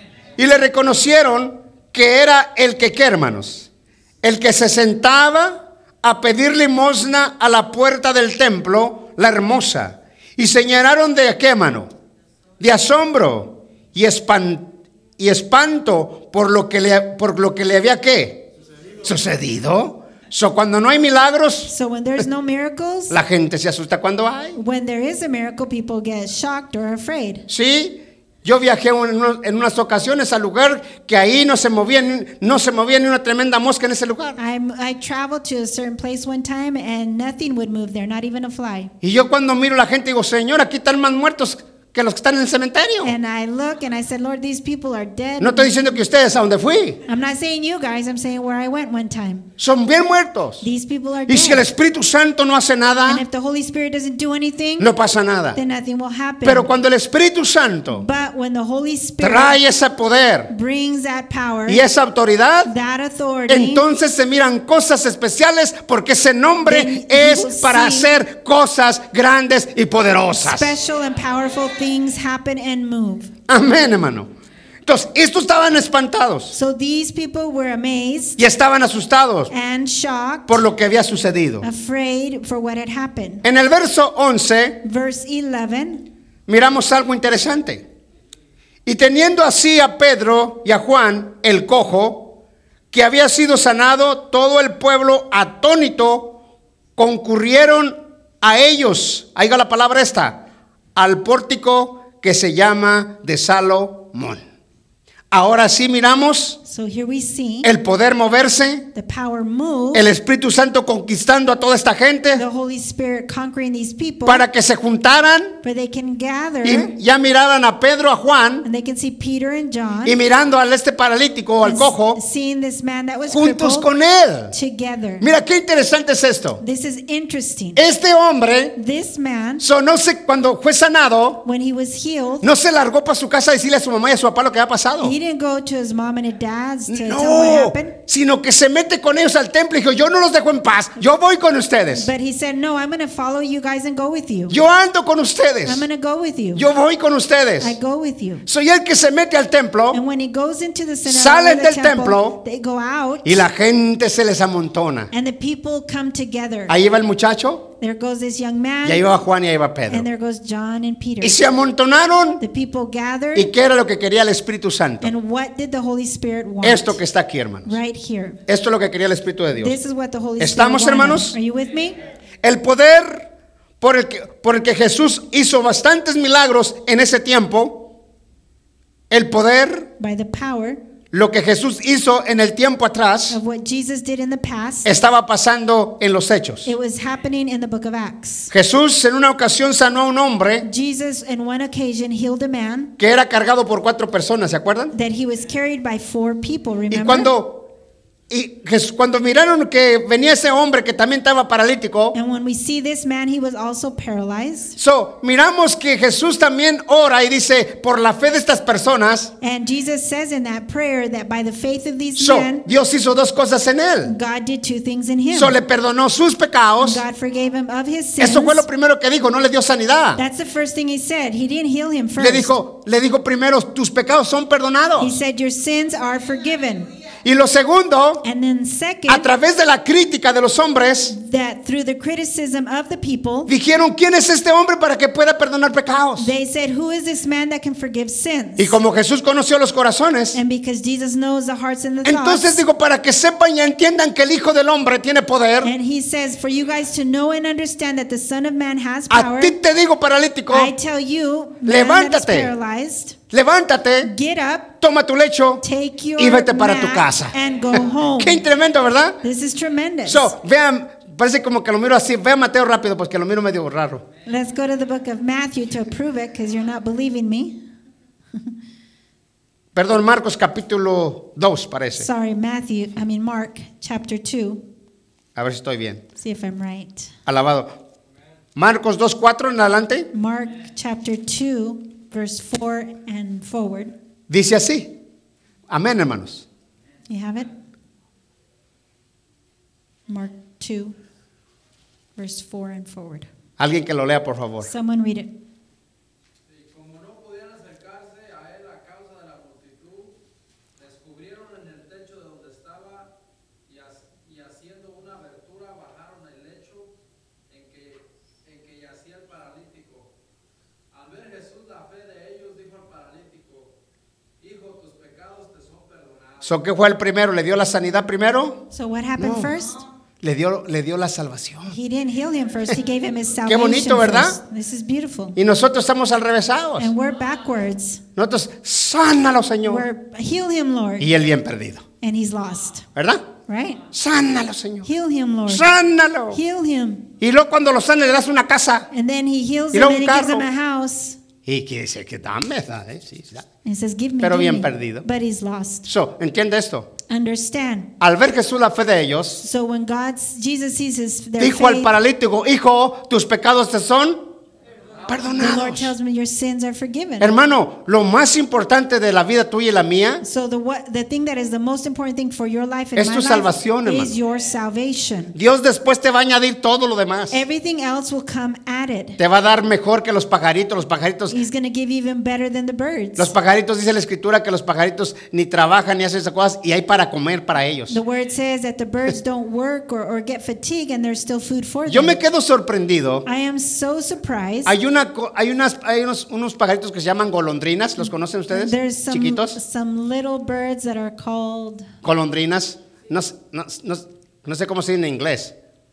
Y le reconocieron que era el que, ¿qué, hermanos? El que se sentaba a pedir limosna a la puerta del templo, la hermosa. Y señalaron de qué, hermano? De asombro y, espan, y espanto por lo que le, por lo que le había, ¿qué? Sucedido. So, cuando no hay milagros, So when there's no miracles, la gente se asusta cuando hay. when there is a miracle, people get shocked or afraid. Sí, yo viajé en, unos- en unas ocasiones al lugar que ahí no se movía, ni- no se movía ni una tremenda mosca en ese lugar. I'm, I traveled to a certain place one time and nothing would move there, not even a fly. Y yo cuando miro a la gente digo, Señor, aquí están más muertos que los que están en el cementerio. And I look and I said, Lord, these people are dead. No estoy diciendo que ustedes a donde fui, I'm not saying you guys, I'm saying where I went one time. son bien muertos. These people are Y si el dead. Espíritu Santo no hace nada, And if the Holy Spirit doesn't do anything, no pasa nada. then nothing will happen. Pero cuando el Espíritu Santo But when the Holy Spirit trae ese poder brings that power, y esa autoridad, that authority, entonces se miran cosas especiales porque ese nombre Then you es will para see hacer cosas grandes y poderosas. special and powerful things happen and move. Amén, hermano. Entonces, estos estaban espantados So these people were amazed y estaban asustados and shocked, por lo que había sucedido. afraid for what had happened. En el verso once Verse eleven, miramos algo interesante. Y teniendo así a Pedro y a Juan, el cojo, que había sido sanado, todo el pueblo atónito concurrieron a ellos. Ahí va la palabra esta, al pórtico que se llama de Salomón. Ahora sí miramos so here we see el poder moverse, the power move, el Espíritu Santo conquistando a toda esta gente the Holy Spirit conquering these people, para que se juntaran for they can gather y ya miraran a Pedro, a Juan, and they can see Peter and John y mirando al este paralítico o al and cojo s- seeing this man that was juntos crippled con él. together. Mira qué interesante es esto. This is interesting. Este hombre, This man, so, no sé, cuando fue sanado, when he was healed, no se largó para su casa a decirle a su mamá y a su papá lo que había pasado. he didn't go to his mom and his dad's to tell what No, happened. sino que se mete con ellos al templo y dijo, yo no los dejo en paz, yo voy con ustedes. But he said, no, I'm going to follow you guys and go with you. Yo ando con ustedes. I'm going to go with you. Yo voy con ustedes. I go with you. Soy el que se mete al templo And when he goes into the synagogue, Salen or the del temple, templo they go out, y la gente se les amontona. and the people come together. Ahí va el muchacho There goes this young man, y ahí va Juan y ahí va Pedro. and there goes John and Peter. Y se amontonaron. The people gathered, ¿Y qué era lo que quería el Espíritu Santo? and what did the Holy Spirit want? Esto que está aquí, hermanos. Right here. Esto es lo que quería el Espíritu de Dios. This is what the Holy ¿Estamos, Spirit wanted. hermanos? Are you with me? El poder por el que, por el que Jesús hizo bastantes milagros en ese tiempo, el poder, By the power lo que Jesús hizo en el tiempo atrás, of what Jesus did in the past, estaba pasando en los hechos. it was happening in the book of Acts. Jesús en una ocasión sanó a un hombre Jesus, in one occasion, healed a man que era cargado por cuatro personas, ¿se acuerdan? that he was carried by four people, Y remember? cuando, y Jes- cuando miraron que venía ese hombre que también estaba paralítico, And when we see this man, he was also paralyzed. so, miramos que Jesús también ora y dice, por la fe de estas personas, And Jesus says in that prayer that by the faith of these so, men, Dios hizo dos cosas en él. God did two things in him. So, le perdonó sus pecados. God forgave him of his sins. Eso fue lo primero que dijo, no le dio sanidad. That's the first thing he said. He didn't heal him first. Le dijo, le dijo primero, tus pecados son He perdonados. said, your sins are forgiven. Y lo segundo, And then a second, través de la crítica de los hombres, that through the criticism of the people, dijeron, ¿quién es este hombre para que pueda perdonar pecados? they said, who is this man that can forgive sins? Y como Jesús conoció los corazones, And because Jesus knows the hearts and the entonces thoughts, digo, para que sepan y entiendan que el Hijo del Hombre tiene poder, and he says, for you guys to know and understand that the Son of Man has a power, ti te digo, paralítico, I tell you, man that is levántate. paralyzed, levántate, get up, toma tu lecho take your y vete para tu mat casa. and go home. Qué tremendo, ¿verdad? This is tremendous. So, vean, parece como que lo miro así. Vean Mateo rápido, porque lo miro medio raro. Let's go to the book of Matthew to prove it, because you're not believing me. Perdón, Marcos capítulo dos parece. Sorry, Matthew, I mean Mark chapter two. A ver si estoy bien. See if I'm right. Alabado. Marcos dos, cuatro en adelante. Mark chapter two, verse four and forward. Dice así. Amén, hermanos. You have it? Mark two, verse four and forward. Alguien que lo lea, por favor. Someone read it. Y como no podían acercarse a él a causa de la multitud, descubrieron en el techo de donde estaba y, as- y haciendo una abertura bajaron el lecho en que, en que yacía el paralítico. Al ver Jesús la fe de ellos, dijo al paralítico, hijo, tus pecados te son perdonados. So, ¿qué fue el primero? ¿Le dio la sanidad primero? So what happened No. first? Le dio, le dio la salvación. He didn't heal him first. He gave him his Qué salvation bonito, ¿verdad? first. This is beautiful. Y nosotros estamos al revésados. And we're backwards. Nosotros, sánalo, Señor. We're, heal him, Lord. Y el bien perdido. And he's lost. ¿Verdad? Right? Sánalo, Señor. Heal him, Lord. Sánalo. Heal him. Y luego cuando lo sana le das una casa. And then he heals Y him luego and un he gives him carro. a house. Y que dice que dame, ¿eh? Sí, sí. And he says, give me, Pero give bien me. perdido. But he's lost. So, ¿entiende esto? Understand. Al ver Jesús la fe de ellos, So when God's, Jesus sees his, their dijo al faith, paralítico, hijo, tus pecados te son the Lord perdonados. tells me your sins are forgiven. Hermano, lo más importante de la vida tuya y la mía So the what the thing that is the most important thing for your life and Es my tu life salvación, hermano. is your salvation. Dios después te va a añadir todo lo demás. Everything else will come added. Te va a dar mejor que los pajaritos. Los pajaritos, He's going to give you even better than the birds. los pajaritos, dice la escritura que los pajaritos ni trabajan ni hacen esas cosas y hay para comer para ellos. The word says that the birds don't work or, or get fatigue and there's still food for Yo them. me quedo sorprendido. I am so surprised. Hay una, co- hay unas, hay unos, unos pajaritos que se llaman golondrinas. ¿Los conocen ustedes? There's some, Chiquitos. some little birds that are called, Golondrinas. No, s- no, s- no, s- no sé cómo se dice en inglés.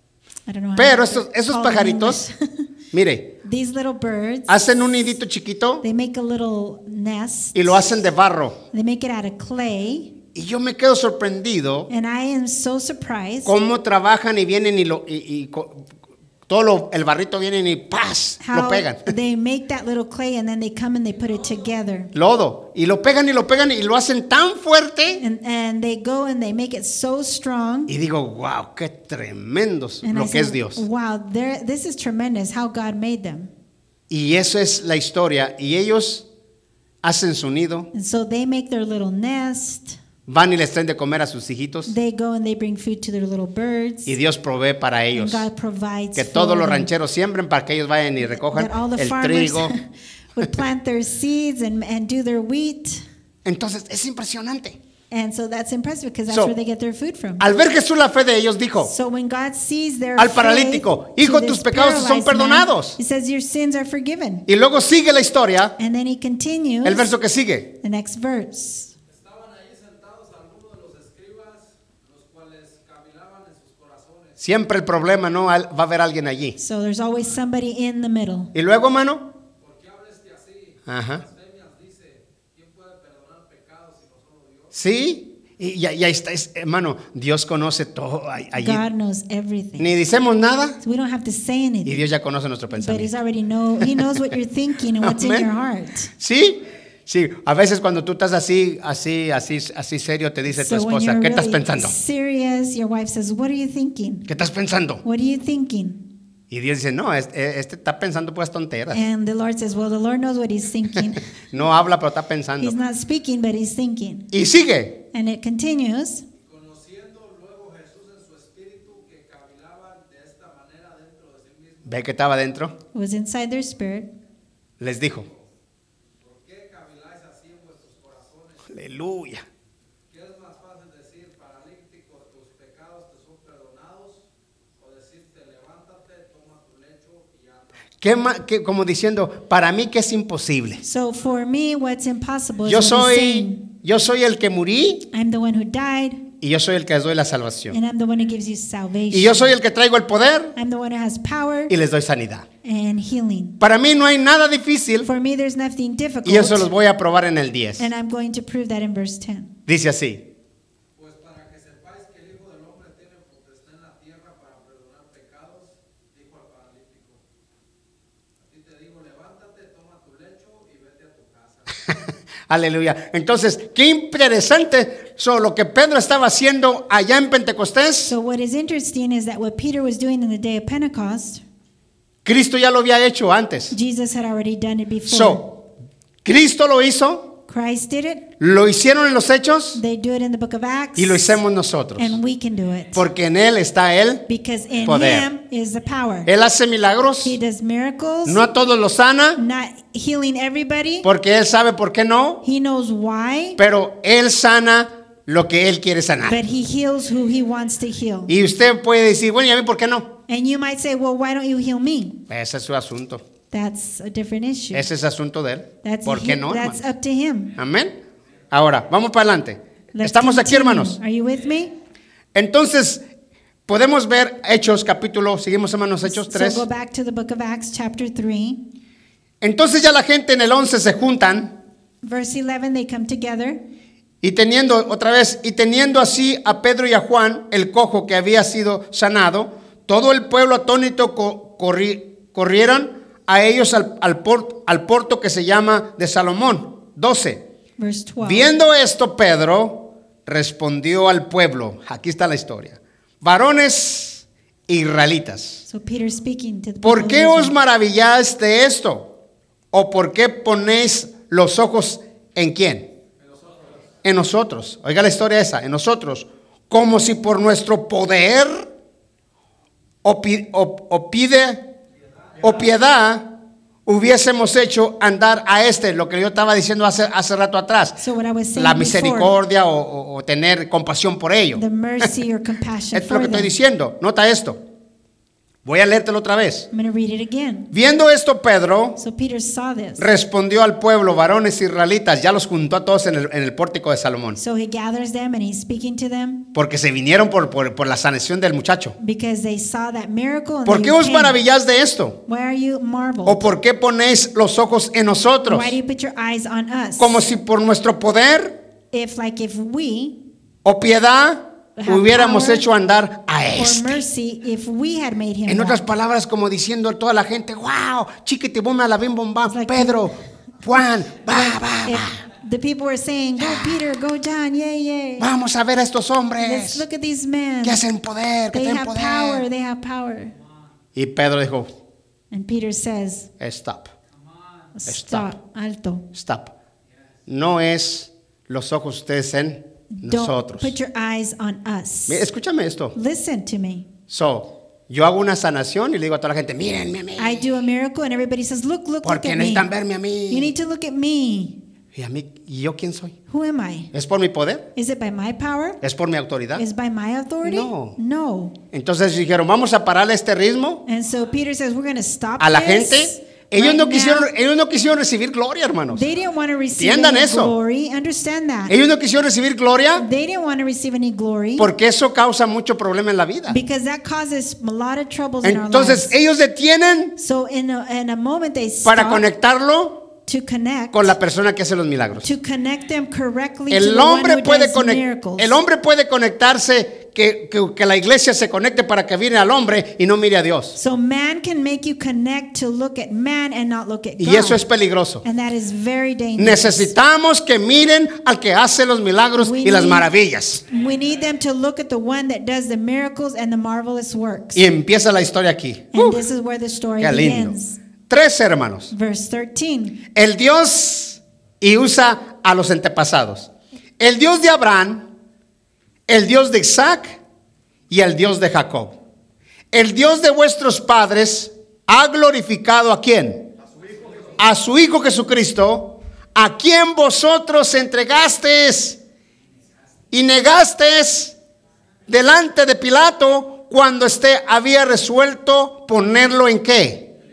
I don't know how Pero to estos, esos call them in pajaritos, English. mire, These little birds, hacen un nidito chiquito they make a little nest. y lo hacen de barro. They make it out of clay. Y yo me quedo sorprendido And I am so surprised cómo trabajan y vienen y, lo, y, y co- todo lo- el barrito vienen y ¡paz! Lo how pegan. they make that little clay and then they come and they put it together. Lodo. Y lo pegan y lo pegan y lo hacen tan fuerte. And, and they go and they make it so strong. Y digo, wow, qué tremendos And I lo que es said, Dios. wow, there- this is tremendous how God made them. Y eso es la historia. Y ellos hacen su nido, And so they make their little nest. van y les traen de comer a sus hijitos. They go and they bring food to their little birds. Y Dios provee para And ellos. God provides Que for todos los them. rancheros siembren para que ellos vayan y recojan That all the el farmers trigo. would plant their seeds and, and do their wheat. Entonces es impresionante. And so that's impressive because that's So, where they get their food from. Al ver Jesús la fe de ellos, dijo So when God sees their al faith paralítico, to hijo, this tus pecados te son paralyzed man, perdonados. He says your sins are forgiven. Y luego sigue la historia, And then he continues el verso que sigue. the next verse. Estaban ahí sentados algunos de los escribas, los cuales cavilaban en sus corazones. Siempre el problema, ¿no? Al- Va a haber alguien allí. So there's always somebody in the middle. Y luego, hermano, ¿Por qué habla este así? ajá, Blasfemias dice, ¿quién puede perdonar pecados sino solo Dios? sí, y ya, ya está, es- hermano, Dios conoce todo ahí- allí. God knows everything. Ni decimos nada So we don't have to say y anything. Dios ya conoce nuestro But he's pensamiento. already know he knows what you're thinking and what's in Amén. your heart. Sí, sí, a veces cuando tú estás así, así, así, así serio, te dice tu So when esposa, you're ¿qué estás really pensando? serious, your wife says, "What are you thinking? ¿Qué estás pensando? What are you thinking?" Y Dios dice, no, este, este está pensando pues tonteras. And the Lord says, "Well, the Lord knows what he's thinking. No habla, pero está pensando. He's not speaking, but he's thinking." Y sigue. And it continues. Conociendo luego Jesús en su espíritu que cavilaban de esta manera dentro de sí mismo, Ve que estaba dentro. It was inside their spirit. Les dijo, ¿por qué caviláis así en vuestros corazones? aleluya. ¿Qué es más fácil decir, ¿Qué ma- qué- como diciendo, para mí que es imposible. So for me, what's impossible is Yo what he's soy, saying. yo soy el que morí I'm the one who died, y yo soy el que les doy la salvación. and I'm the one who gives you salvation. Y yo soy el que traigo el poder I'm the one who has power y les doy sanidad. and healing. Para mí no hay nada difícil For me, there's nothing difficult, y eso los voy a probar en el diez. and I'm going to prove that in verse ten. Dice así. Pues para que sepáis que el Hijo del Hombre tiene potestad en la tierra para perdonar pecados, dijo al paralítico. A ti te digo, levántate, toma tu lecho y vete a tu casa. Aleluya. Entonces, qué interesante so, lo que Pedro estaba haciendo allá en Pentecostés. So what is interesting is that what Peter was doing in the day of Pentecost, Cristo ya lo había hecho antes. Jesus had already done it before. So, Cristo lo hizo, Christ did it. lo hicieron en los hechos They do it in the book of Acts. y lo hicimos nosotros. And we can do it. Porque en Él está Él. Because in Poder. him is the power. Él hace milagros, He does miracles, no a todos los sana, not healing everybody. porque Él sabe por qué no, He knows why, pero Él sana lo que Él quiere sanar. but he heals who he wants to heal. Y usted puede decir, bueno, ¿y a mí por qué no? And you might say, well, why don't you heal me? Ese es su asunto. That's a different issue. Ese es asunto de Él. That's, ¿Por qué no, that's hermano? up to him. Amén. Ahora, vamos para adelante. Let's Estamos aquí, continue. hermanos. Are you with me? Entonces, podemos ver Hechos, capítulo, seguimos, hermanos, Hechos So tres. go back to the book of Acts, chapter three. Entonces ya la gente en el once se juntan Verse eleven, they come together. y teniendo, otra vez, y teniendo así a Pedro y a Juan, el cojo que había sido sanado, todo el pueblo atónito co- corri- corrieron a ellos al, al, por- al porto que se llama de Salomón. doce. Verse twelve. Viendo esto, Pedro respondió al pueblo. Aquí está la historia. Varones israelitas, So Peter speaking to the ¿por people qué of os Israel. maravilláis de esto? ¿O por qué ponéis los ojos en quién? En nosotros. Oiga la historia esa, en nosotros. Como si por nuestro poder o, pi- o- o pide o piedad hubiésemos hecho andar a este, lo que yo estaba diciendo hace, hace rato atrás. So what I was saying La before, misericordia o, o- o tener compasión por ello. the mercy or compassion Es lo for que estoy them. diciendo. Nota esto. Voy a leértelo otra vez. I'm going to read it again. Viendo esto, Pedro So Peter saw this. respondió al pueblo, varones israelitas, ya los juntó a todos en el, en el pórtico de Salomón, So he gathers them and he's speaking to them porque se vinieron por, por, por la sanación del muchacho. because they saw that miracle. And ¿Por they qué os came. maravilláis de esto? Why are you marveled? ¿O por qué ponéis los ojos en nosotros? Why do you put your eyes on us? Como si por nuestro poder If like if we o piedad have hubiéramos power hecho andar a or este. mercy, if we had made him En otras walk. palabras, como diciendo a toda la gente, wow, chiquiti, bum, a la bim, bum, bam, It's like- Pedro, Juan, va, va, If va. the people were saying, go Peter, go John, yay, yay. Vamos a ver a estos Let's hombres look at these men. que hacen poder, que They tienen have poder. power, they have power. Y Pedro dijo, And Peter says, stop, stop, alto. stop. No es los ojos ustedes en Don't nosotros. put your eyes on us. Mira, escúchame esto. Listen to me. So, yo hago una sanación y le digo a toda la gente, mírenme a mí. I do a miracle and everybody says, look, look, look Porque at me. necesitan verme a You mí. need to look at me. ¿Y a mí? ¿Y yo quién soy? Who am I? ¿Es por mi poder? Is it by my power? ¿Es por mi autoridad? Is by my authority? No. No. Entonces dijeron, vamos a pararle este ritmo And so Peter says, we're going to stop a la this gente. Ellos right no now. quisieron, ellos no quisieron recibir gloria, hermanos. They didn't want to receive Entiendan any eso. glory. Understand that. Ellos no quisieron recibir gloria They didn't want to receive any glory porque eso causa mucho problema en la vida. because that causes a lot of troubles in our Entonces lives. ellos detienen So in a, in a moment they para stop conectarlo to connect con la persona que hace los milagros. to connect them correctly to El the one hombre who puede does conect- miracles. el hombre puede conectarse, que, que, que la iglesia se conecte para que mire al hombre y no mire a Dios. So man can make you connect to look at man and not look at God. Y eso es peligroso. And that is very dangerous. Necesitamos que miren al que hace los milagros We y las need- maravillas. We need them to look at the one that does the miracles and the marvelous works. Y empieza la historia aquí. And Uh, this is where the story qué lindo. begins. Tres hermanos. Verse thirteen. El Dios, y usa a los antepasados. El Dios de Abraham, el Dios de Isaac y el Dios de Jacob. El Dios de vuestros padres ha glorificado ¿a quién? A su Hijo Jesucristo, a quien vosotros entregasteis y negasteis delante de Pilato cuando éste había resuelto ponerlo en qué?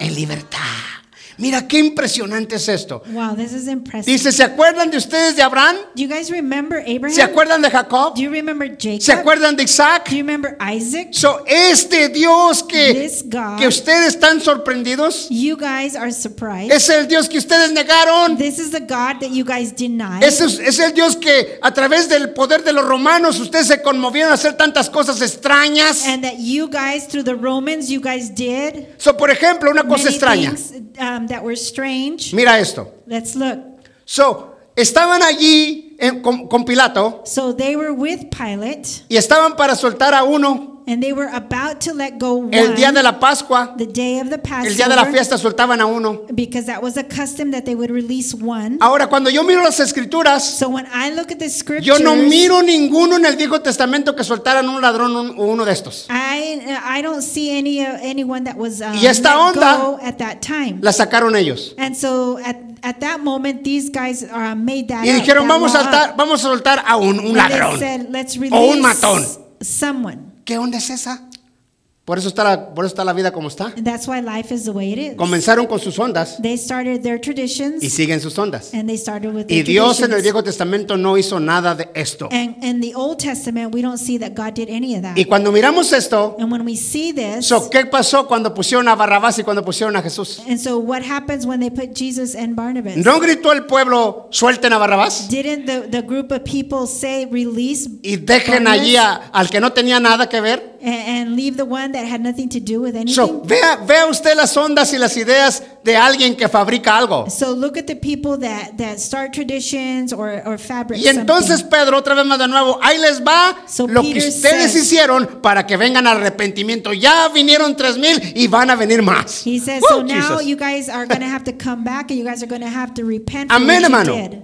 en libertad. Mira qué impresionante es esto. Wow, this is impressive. Dice, ¿se acuerdan de ustedes de Abraham? Do you guys remember Abraham? ¿Se acuerdan de Jacob? Do you remember Jacob? ¿Se acuerdan de Isaac? Do you remember Isaac? So, este Dios que, This God, que ustedes están sorprendidos, you guys are surprised. es el Dios que ustedes negaron. This is the God that you guys denied. Es, es el Dios que a través del poder de los romanos ustedes se conmovieron a hacer tantas cosas extrañas. And that you guys, through the Romans, you guys did So, por ejemplo, una cosa many extraña. things um, that were strange. Mira esto. Let's look. So, estaban allí en- con, con Pilato So they were with Pilate, y estaban para soltar a uno and they were about to let go one, el día de la Pascua. the day of the El día de la Passover, fiesta soltaban a uno. because that was a custom that they would release one. Ahora, cuando yo miro las escrituras, So when I look at the scriptures, yo no miro ninguno en el Viejo Testamento que soltaran un ladrón un- o uno de estos. I I don't see any uh, anyone that was um, Y esta let onda go at that time. La sacaron ellos. And so at at that moment, these guys uh, made that Y up, dijeron, that vamos a law soltar, up. vamos a soltar a un, un And they ladrón. said, let's O un release matón. someone. ¿Qué onda es esa? Por eso está la, por eso está la vida como está. And that's why life is the way it is. Comenzaron con sus ondas They started their traditions, y siguen sus ondas. and they started with Y their Dios en el traditions. Viejo Testamento no hizo nada de esto. And in the Old Testament, we don't see that God did any of that. Y cuando miramos esto, And when we see this, so, ¿qué pasó cuando pusieron a Barrabás y cuando pusieron a Jesús? and so what happens when they put Jesus and Barnabas? ¿No gritó el pueblo, suelten a Barrabás Didn't the, the group of people say, release y dejen Barnabas allí a- al que no tenía nada que ver? and, and leave the one that had nothing to do with anything? So, vea, vea usted las ondas y las ideas de alguien que fabrica algo. So look at the people that, that start traditions or, or fabric Y entonces something. Pedro, otra vez más de nuevo, ahí les va So lo que Peter ustedes says- hicieron para que vengan al arrepentimiento. Ya vinieron tres mil y van a venir más. He says, Woo, so now Jesus. you guys are going to have to come back and you guys are going to have to repent for Amén, what you hermano. did.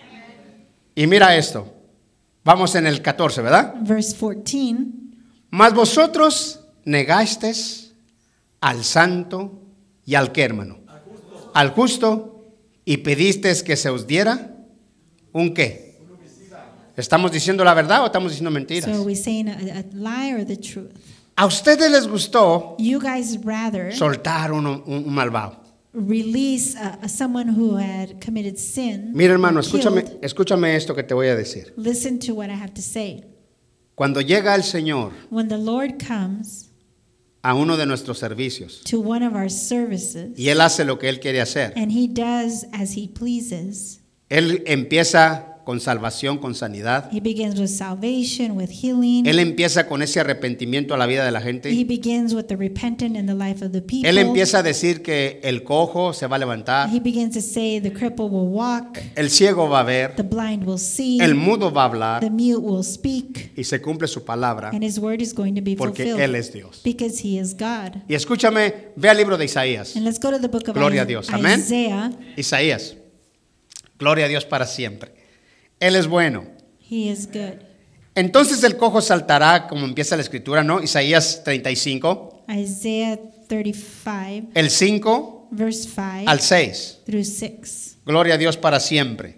Y mira esto. Vamos en el catorce, ¿verdad? Verse fourteen. Mas vosotros negasteis al santo y al qué, hermano? Al justo, y pedisteis que se os diera un qué. ¿Estamos diciendo la verdad o estamos diciendo mentiras? So are we saying a, a lie or the truth? A ustedes les gustó You guys rather soltar uno- un, un malvado. release a, a someone who had committed sin. Mira, hermano, or escúchame, killed. escúchame esto que te voy a decir. Listen to what I have to say. Cuando llega el Señor When the Lord comes a uno de nuestros servicios to one of our services y Él hace lo que Él quiere hacer, and he does as he pleases, Él empieza con salvación, con sanidad. he begins with salvation, with healing. Él empieza con ese arrepentimiento a la vida de la He gente. begins with the repentant in the life of the people. Él empieza a decir que el cojo se va a levantar, He begins to say the cripple will walk, el ciego va a ver, the blind will see, el mudo va a hablar the mute will speak, y se cumple su palabra and his word is going to be porque fulfilled Él es Dios. because he is God. Y escúchame, ve al libro de Isaías. And let's go to the book of Gloria a Is- Dios. Amén. Isaiah. Isaías. Gloria a Dios para siempre. Él es bueno. He is good. Entonces el cojo saltará, como empieza la escritura, ¿no? Isaías treinta y cinco, Isaiah thirty-five, el cinco verse five al seis. through six. Gloria a Dios para siempre.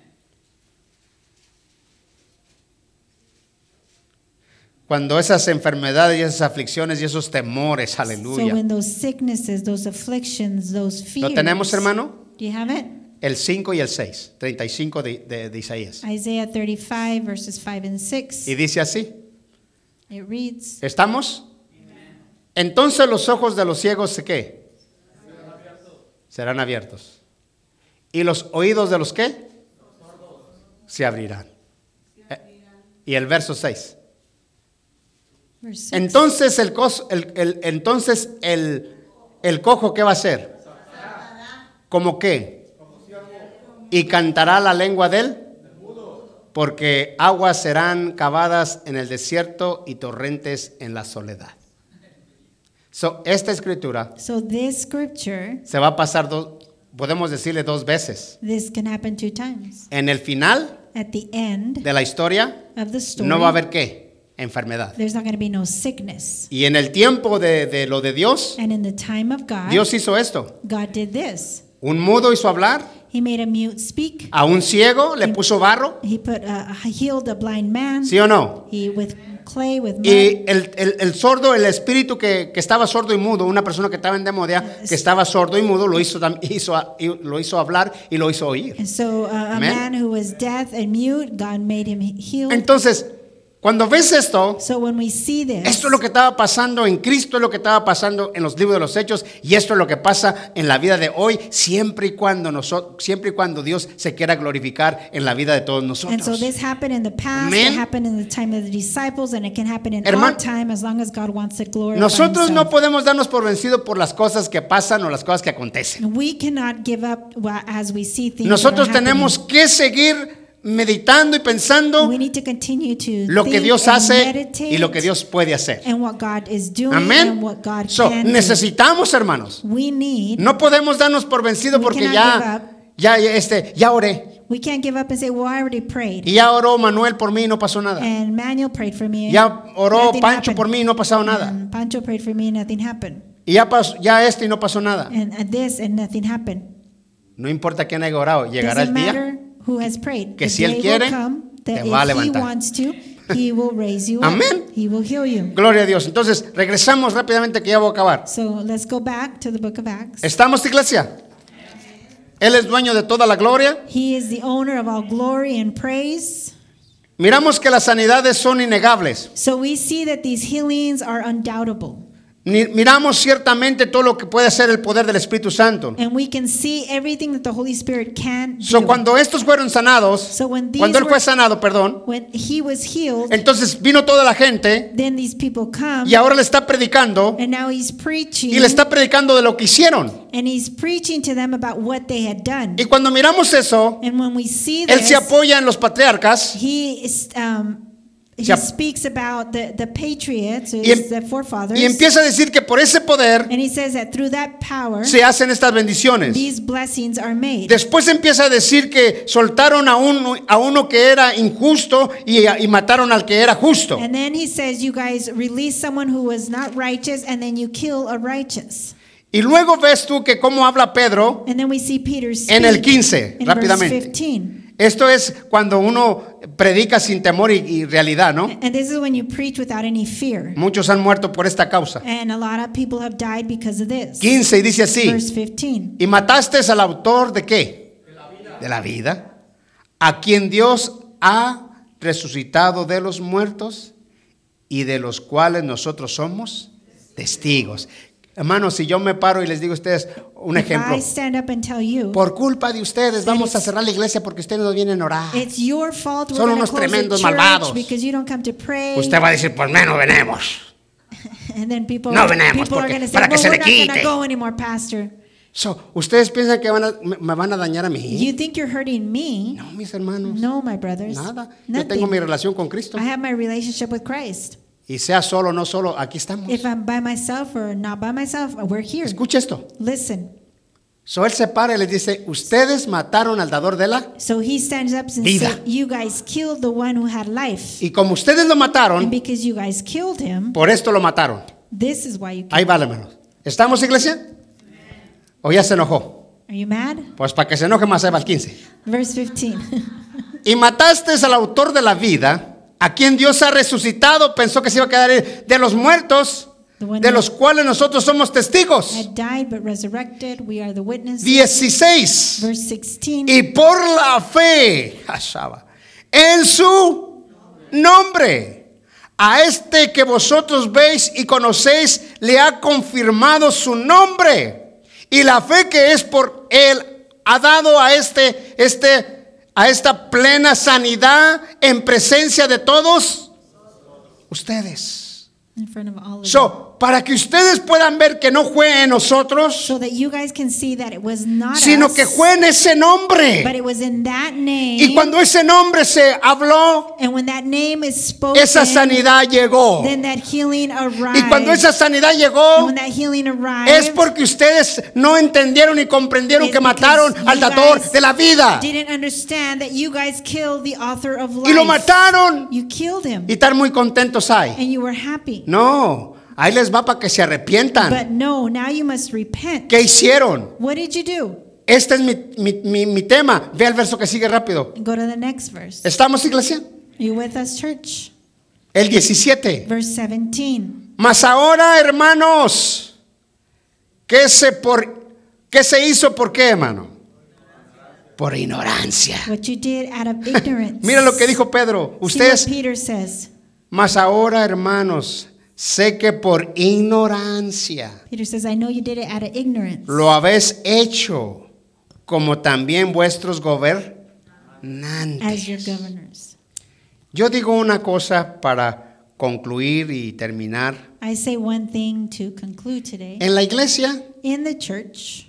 Cuando esas enfermedades y esas aflicciones y esos temores, So aleluya. when those sicknesses, those afflictions, those fears. ¿Lo tenemos, hermano? Do you have it? El cinco y el seis, treinta y cinco de, de, de Isaías. Isaiah thirty-five, verses five and six. Y dice así, It reads, ¿estamos? Entonces los ojos de los ciegos, ¿qué? Serán abiertos. ¿Y los oídos de los qué? Se abrirán. Eh, Y el verso seis. verse six. Entonces el, cos- el, el- entonces el, el cojo, ¿qué va a hacer? ¿Cómo qué? Y cantará la lengua de él, porque aguas serán cavadas en el desierto y torrentes en la soledad. So, esta escritura So this scripture, se va a pasar, dos, podemos decirle dos veces. this can happen two times. En el final At the end de la historia of the story, no va a haber qué, enfermedad. there's not going to be no sickness. Y en el tiempo de, de lo de Dios, And in the time of God, Dios hizo esto. God did this. Un mudo hizo hablar, He made a mute speak. a un ciego le puso barro, He put uh, healed a blind man. ¿sí o no? He with clay, with mud. Y el, el, el sordo, el espíritu que, que estaba sordo y mudo, una persona que estaba endemoniada, que estaba sordo y mudo, lo hizo, tam- hizo, lo hizo hablar y lo hizo oír. And so uh, a Amen. man who was deaf and mute, God made him healed. Entonces, cuando ves esto, So when we see this, esto es lo que estaba pasando en Cristo, es lo que estaba pasando en los libros de los Hechos, y esto es lo que pasa en la vida de hoy, siempre y cuando nosotros, siempre y cuando Dios se quiera glorificar en la vida de todos and so nosotros. this happened in the past, Amen. it happened in the time of the disciples, and it can happen in Hermano, our time as long as God wants it glorified. Nosotros no himself. podemos darnos por vencidos por las cosas que pasan o las cosas que acontecen. We cannot give up wa- as we see things. Nosotros that are tenemos happening. que seguir meditando y pensando We need to continue to lo que think Dios and hace meditate y lo que Dios puede hacer. and what God is doing Amén. and what God So, can do. necesitamos, hermanos. We need. No podemos darnos por vencido We porque cannot ya, ya, ya, este, ya oré. We can't give up and say, "Well, I already prayed." Y ya oró Manuel por mí y no pasó nada. And Manuel prayed for me. Ya oró nothing Pancho happened. por mí y no ha pasado nada. And Pancho prayed for me and nothing happened. Y ya, pasó, ya este y no pasó nada. And uh, this and nothing happened. No importa quién haya orado, llegará Doesn't el día matter who has prayed. que The si él day quiere, will come that te va a if he levantar. wants to, he will raise you up. Amén. He will heal you. Gloria a Dios. Entonces, regresamos rápidamente que ya voy a acabar. So let's go back to the book of Acts. ¿Estamos, iglesia? Él es dueño de toda la gloria. He is the owner of all glory and praise. Miramos que las sanidades son innegables. So we see that these healings are undoubtable. Ni- Miramos ciertamente todo lo que puede hacer el poder del Espíritu Santo. And we can see everything that the Holy Spirit can do. So, cuando estos fueron sanados, So when these cuando él were- fue sanado, perdón, When he was healed, entonces vino toda la gente then these people come, y ahora le está predicando and now he's preaching, y le está predicando de lo que hicieron. and he's preaching to them about what they had done. Y cuando miramos eso, And when we see él this, se apoya en los patriarcas he is, um, he Se ap- speaks about the, the patriots, y, em- the forefathers, y empieza a decir que por ese poder and he says that through that power, se hacen estas bendiciones. these blessings are made. Después empieza a decir que soltaron a uno, a uno que era injusto y, y mataron al que era justo. And then he says, you guys release someone who was not righteous, and then you kill a righteous. Y luego ves tú que cómo habla Pedro And then we see Peter speak en el quince, in verse rápidamente. fifteen. Esto es cuando uno predica sin temor y, y realidad, ¿no? And this is when you preach without any fear. Muchos han muerto por esta causa. And a lot of people have died because of this. quince y dice así: Verse fifteen. y mataste al autor de qué? De la vida. De la vida, a quien Dios ha resucitado de los muertos y de los cuales nosotros somos testigos. Hermanos, si yo me paro y les digo a ustedes un If ejemplo, I stand up and tell you, por culpa de ustedes vamos a cerrar la iglesia porque ustedes no vienen a orar. it's your fault we're Son going to unos close the tremendos church malvados. because you don't come to pray. Usted va a decir, pues menos venemos. And then people, No venemos people are porque- going to say, para que well, se we're le not going to quite. go anymore, pastor. So, ¿ustedes piensan que van a- me, me van a dañar a mí? You think you're hurting me? No, mis hermanos. No, my brothers. Nada. Yo Nothing. tengo mi relación con Cristo. I have my relationship with Christ. Y sea solo o no solo, aquí estamos. If I'm by myself or not by myself, we're here. Escucha esto. Listen. So, él se para y les dice, ustedes mataron al dador de la... So he stands up and Vida. says, you guys killed the one who had life. Y como ustedes lo And mataron, because you guys killed him, por esto lo mataron. this is why you killed Ahí va, hermanos. ¿Estamos, iglesia? ¿O ya se enojó? him. Are you mad? Pues para que se enoje más, ahí va el quince. Verse fifteen. Y mataste al autor de la vida, a quien Dios ha resucitado, pensó que se iba a quedar de los muertos, de los cuales nosotros somos testigos. Had died but resurrected. We are the witnesses. dieciséis. Verse sixteen. Y por la fe, Ashaba, en su nombre, a este que vosotros veis y conocéis, le ha confirmado su nombre. Y la fe que es por él ha dado a este, este, a esta plena sanidad en presencia de todos ustedes. In front of all of you. So, para que ustedes puedan ver que no fue en nosotros, So that you guys can see that it was not sino us, que fue en ese but nombre. it was in that name. Y cuando ese nombre se habló, And when that name is spoken, esa sanidad llegó. then that healing arrived. Y cuando esa sanidad And llegó, when that healing arrived, es porque ustedes no entendieron y comprendieron it's que mataron because al you dador guys de la vida. didn't understand that you guys killed the author of life. Y lo mataron. You killed him, Y están muy contentos ahí. and you were happy. No, ahí les va para que se arrepientan. But no, now you must repent. ¿Qué hicieron? What did you do? Este es mi, mi, mi, mi tema. Ve al verso que sigue rápido. Go to the next verse. ¿Estamos, iglesia? Are you with us, church? El diecisiete. Verse seventeen. Mas ahora, hermanos, ¿qué se, por, ¿qué se hizo? ¿Por qué, hermano? Por ignorancia. What you did out of ignorance. Mira lo que dijo Pedro. See what Ustedes, Peter says. mas ahora, hermanos, sé que por ignorancia Peter says, I know you did it out of ignorance. lo habéis hecho, como también vuestros gobernantes. As your governors. Yo digo una cosa para concluir y terminar. I say one thing to conclude today. En la iglesia In the church,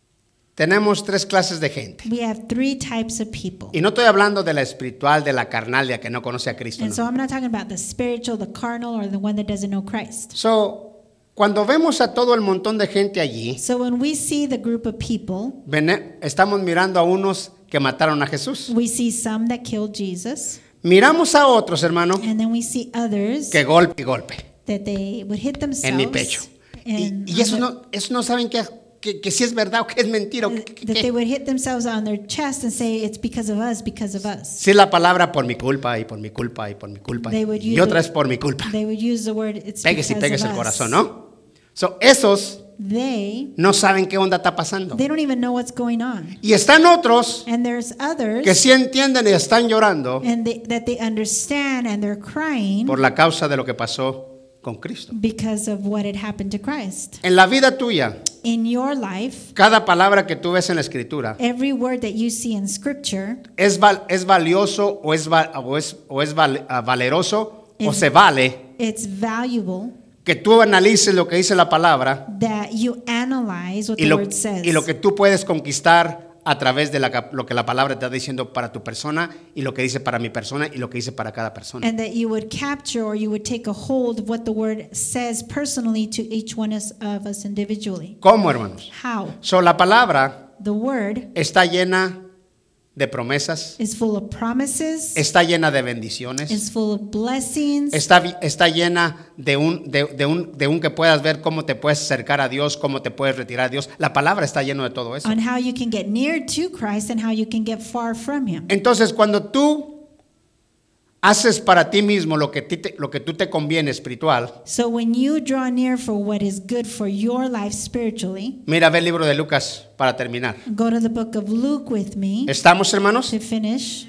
tenemos tres clases de gente. we have three types of people. Y no estoy hablando de la espiritual, de la carnal, de la que no conoce a Cristo. And No. so I'm not talking about the spiritual, the carnal, or the one that doesn't know Christ. So, cuando vemos a todo el montón de gente allí, So when we see the group of people, vene- estamos mirando a unos que mataron a Jesús. we see some that killed Jesus, Miramos a otros, hermano, and then we see others que golpe y golpe that they would hit themselves. en mi pecho. Y, and y on eso the- no, eso no saben que, que, que si es verdad o que es mentira. O que, que- that que- they would hit themselves on their chest and say, it's because of us, because of us. Si es la palabra por mi culpa y por mi culpa y por mi culpa. They would Y use otra the- es por mi culpa. They would use the word, it's Péguese y because péguese of el us. corazón, ¿no? So, esos They, no saben qué onda está pasando. they don't even know what's going on. Y están otros And there's others que sí entienden y están llorando and they, that they understand and they're crying por la causa de lo que pasó con Cristo. because of what had happened to Christ. En la vida tuya, In your life, cada palabra que tú ves en la escritura every word that you see in scripture es, val- es valioso o es, val- o es, o es val- ah, valeroso o Es- se vale it's valuable que tú analices lo que dice la palabra that you analyze what y the lo, word says. y lo que tú puedes conquistar a través de la cap- lo que la palabra te está diciendo para tu persona y lo que dice para mi persona y lo que dice para cada persona. And that you would capture or you would take a hold of what the word says personally to each one us- of us individually. ¿Cómo, hermanos? How? So, la palabra The word está llena de promesas, is full of promises, está llena de bendiciones, is full of blessings, está, vi- está llena de un, de, de un, de un que puedas ver cómo te puedes acercar a Dios, cómo te puedes retirar a Dios. La palabra está llena de todo eso. on how you can get near to Christ and how you can get far from Him. Entonces, cuando tú haces para ti mismo lo que, ti te- lo que tú te conviene espiritual, So when you draw near for what is good for your life spiritually, mira, ve el libro de Lucas para terminar. go to the book of Luke with me ¿Estamos, hermanos? to finish.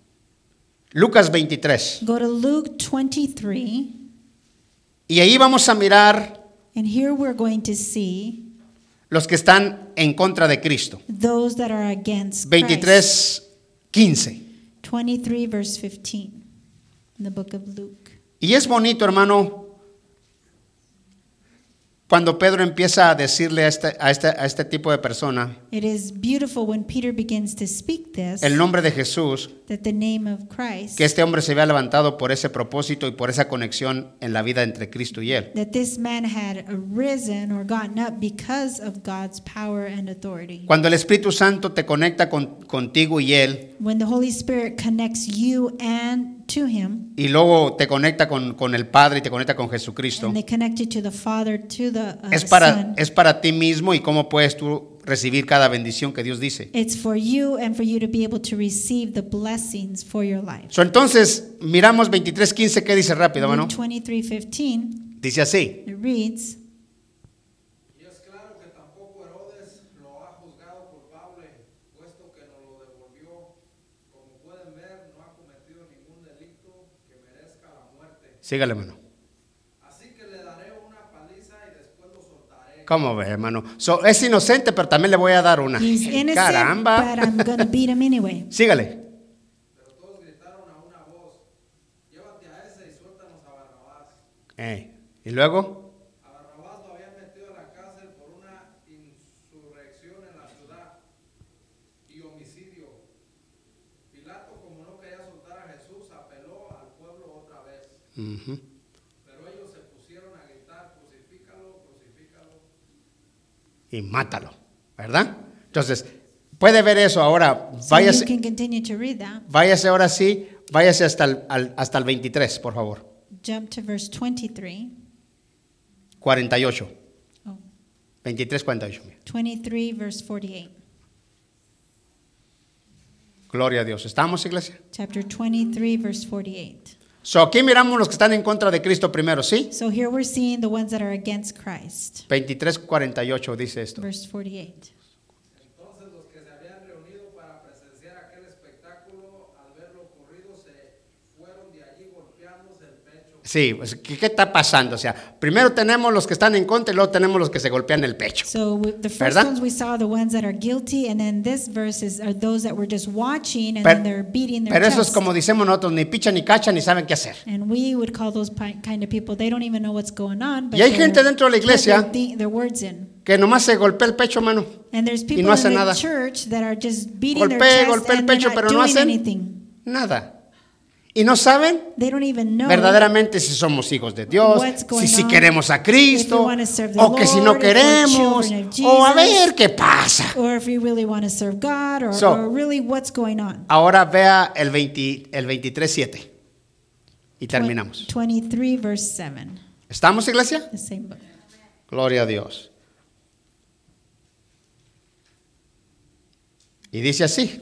Lucas veintitrés. Go to Luke twenty-three, Y ahí vamos a mirar and here we're going to see los que están en contra de Cristo. those that are against Christ. veintitrés, quince. twenty-three verse fifteen in the book of Luke. Y es bonito, hermano, cuando Pedro empieza a decirle a este, a este, a este tipo de persona It is beautiful when Peter begins to speak this, el nombre de Jesús, that the name of Christ, que este hombre se había levantado por ese propósito y por esa conexión en la vida entre Cristo y él. that this man had arisen or gotten up because of God's power and authority. Cuando el Espíritu Santo te conecta con- contigo y él, When the Holy Spirit connects you and to Him, y luego te conecta con, con el Padre y te conecta con Jesucristo, and they connect you to the Father, to the uh, es para, Son, es para ti mismo y cómo puedes tú recibir cada bendición que Dios dice. it's for you and for you to be able to receive the blessings for your life. So, entonces, miramos veintitrés quince, ¿qué dice rápido, Luke hermano? twenty-three fifteen, Dice así. it reads, Y es claro que tampoco Herodes lo ha juzgado culpable, puesto que nos lo devolvió. Como pueden ver, no ha cometido ningún delito que merezca la muerte. Sígale, hermano. Así que le daré una paliza y después lo soltaré. ¿Cómo ve, hermano? So, es inocente, pero también le voy a dar una. he's innocent, Caramba. but I'm going to beat him anyway. Sígale. Pero todos gritaron a una voz: llévate a ese y suéltanos a Barrabás. Eh, Y luego, A Barrabás lo habían metido a la cárcel por una insurrección en la ciudad y homicidio. Pilato, como no quería soltar a Jesús, apeló al pueblo otra vez. ujú, Pero ellos se pusieron a gritar: crucifícalo, crucifícalo. y mátalo, ¿verdad? Entonces, puede ver eso ahora. So Váyase, you can continue to read that. váyase ahora sí, váyase hasta el, al- hasta el veintitrés, por favor. Jump to verse twenty-three. cuarenta y ocho. Oh, veintitrés, cuarenta y ocho. mira. twenty-three verse forty-eight. Gloria a Dios. ¿Estamos, iglesia? Chapter twenty-three verse forty-eight. So aquí miramos los que están en contra de Cristo primero, ¿sí? So here we're seeing the ones that are against Christ. veintitrés cuarenta y ocho dice esto. Verse forty-eight. Entonces los que se habían reunido para presenciar aquel espectáculo, al ver lo ocurrido, se fueron de allí golpeándose el pecho. Sí, pues, ¿qué, ¿qué está pasando? O sea, primero tenemos los que están en contra y luego tenemos los que se golpean el pecho. So we- the first ¿Verdad? ones we saw the ones that are guilty, and then this verse is are those that were just watching and Pero, then they're beating their pero eso es chest. como decimos nosotros, ni picha ni cacha ni saben qué hacer. And we would call those pi- kind of people, they don't even know what's going on. But Y hay they're- gente dentro de la but iglesia they're thi- their words in. Que nomás se golpea el pecho, hermano. And there's people no hace in the nada. church that are just beating Golpea, their chest golpea el and they're pecho, not pero no doing hacen anything. nada. Y no saben They don't even know verdaderamente si somos hijos de Dios, what's going si, si on, queremos a if Cristo, we wanna serve the o que si no Lord, if we're queremos, children of o a Jesus. ver qué pasa. or if we really want to serve God, or, So- or really what's going on. Ahora vea el, veinte, el veintitrés siete y terminamos. twenty-three verse seven, ¿Estamos, iglesia? the same book. Gloria a Dios. Y dice así.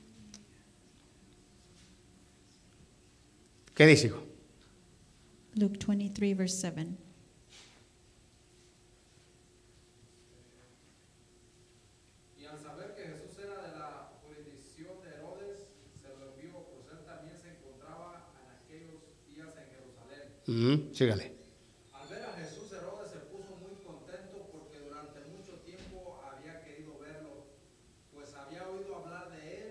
¿Qué dice, hijo? Luke twenty-three verse seven. Y al saber que Jesús era de la jurisdicción de Herodes, se lo envió, pues él también se encontraba en aquellos días en Jerusalén. Ujú, sígale. Al ver a Jesús, Herodes se puso muy contento porque durante mucho tiempo había querido verlo, pues había oído hablar de él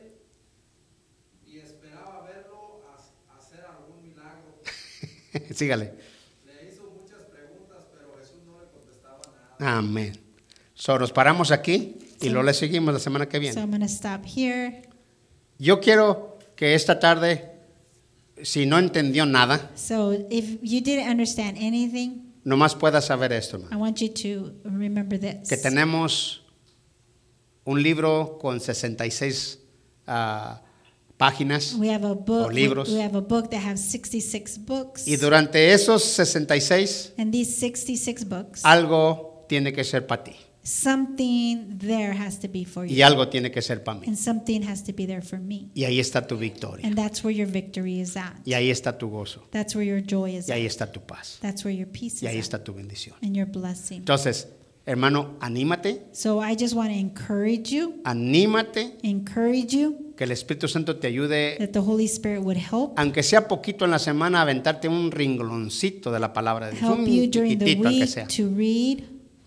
y esperaba verlo ha- hacer algún milagro. Sígale. Le hizo muchas preguntas, pero Jesús no le contestaba nada. Amén. So, nos paramos aquí y luego le seguimos la semana que So viene. I'm going to stop here. Yo quiero que esta tarde, si no entendió nada, So if you didn't understand anything, nomás pueda saber esto, hermano. I want you to remember this. Que tenemos un libro con sesenta y seis ah, páginas We have a o book. We, libros. we have a book that has sixty-six books. Y durante esos sesenta y seis, And these sixty-six books, algo tiene que ser para ti something there has to be for y you. algo tiene que ser para mí. And something has to be there for me. Y ahí está tu victoria. And that's where your victory is at. Y ahí está tu gozo. That's where your joy is Y ahí at. está tu paz. That's where your peace Y ahí is está at. tu bendición. And your blessing. Entonces, hermano, anímate, So I just want to encourage you, anímate, encourage you que el Espíritu Santo te ayude, that the Holy Spirit would help, aunque sea poquito en la semana, a aventarte un ringloncito de la palabra de Dios, help un you during the chiquitito aunque week sea, to read,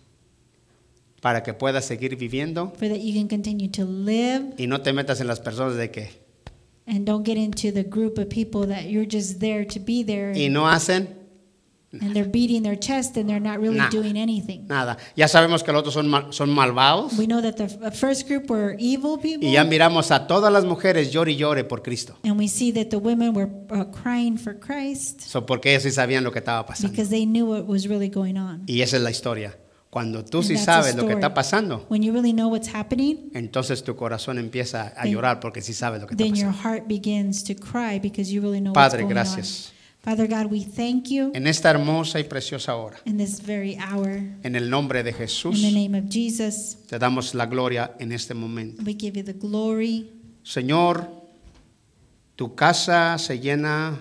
para que puedas seguir viviendo for that you can continue to live y no te metas en las personas de que and don't get into the group of people that you're just there to be there y no hacen and they're beating their chest and they're not really Nada. doing anything. nada. Ya sabemos que los otros son, mal- son malvados We know that the f- first group were evil people, y ya miramos a todas las mujeres llore y llore por Cristo. and we see that the women were uh, crying for Christ So, porque ellos sí sabían lo que estaba pasando. because they knew what was really going on. Y esa es la historia. Cuando tú And sí that's a sabes lo que story. está pasando, When you really know what's happening, entonces tu corazón empieza a Then- llorar porque sí sabes lo que está then your pasando. heart begins to cry because you really know what's Padre, going gracias. on. Father God, we thank you En esta hermosa y preciosa hora, in this very hour. en el nombre de In Jesús, the name of Jesus, te damos la gloria en este momento. we give you the glory. Señor, tu casa se llena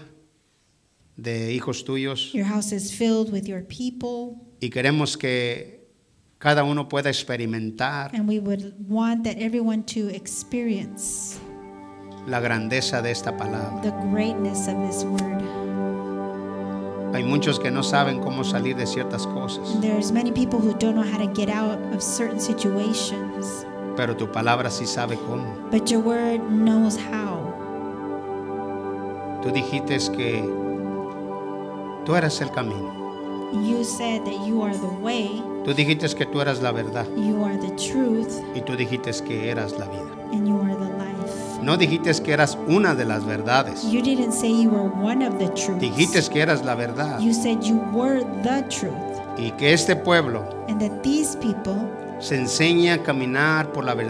de hijos tuyos Your house is filled with your people, y queremos que cada uno pueda experimentar and we would want that everyone to experience la grandeza de esta palabra. the greatness of this word. Hay muchos que no saben cómo salir de ciertas cosas, And there's many people who don't know how to get out of certain situations, pero tu palabra sí sabe cómo. but your word knows how. Tú dijiste que tú eras el camino. You said that you are the way, Tú dijiste que tú eras la verdad you are the truth, y tú dijiste que eras la vida. and you are the life. No dijiste que eras una de las verdades. You didn't say you were one of the truths. Dijiste que eras la verdad You said you were the truth, y que este pueblo and that these people se enseña a caminar por la verdad.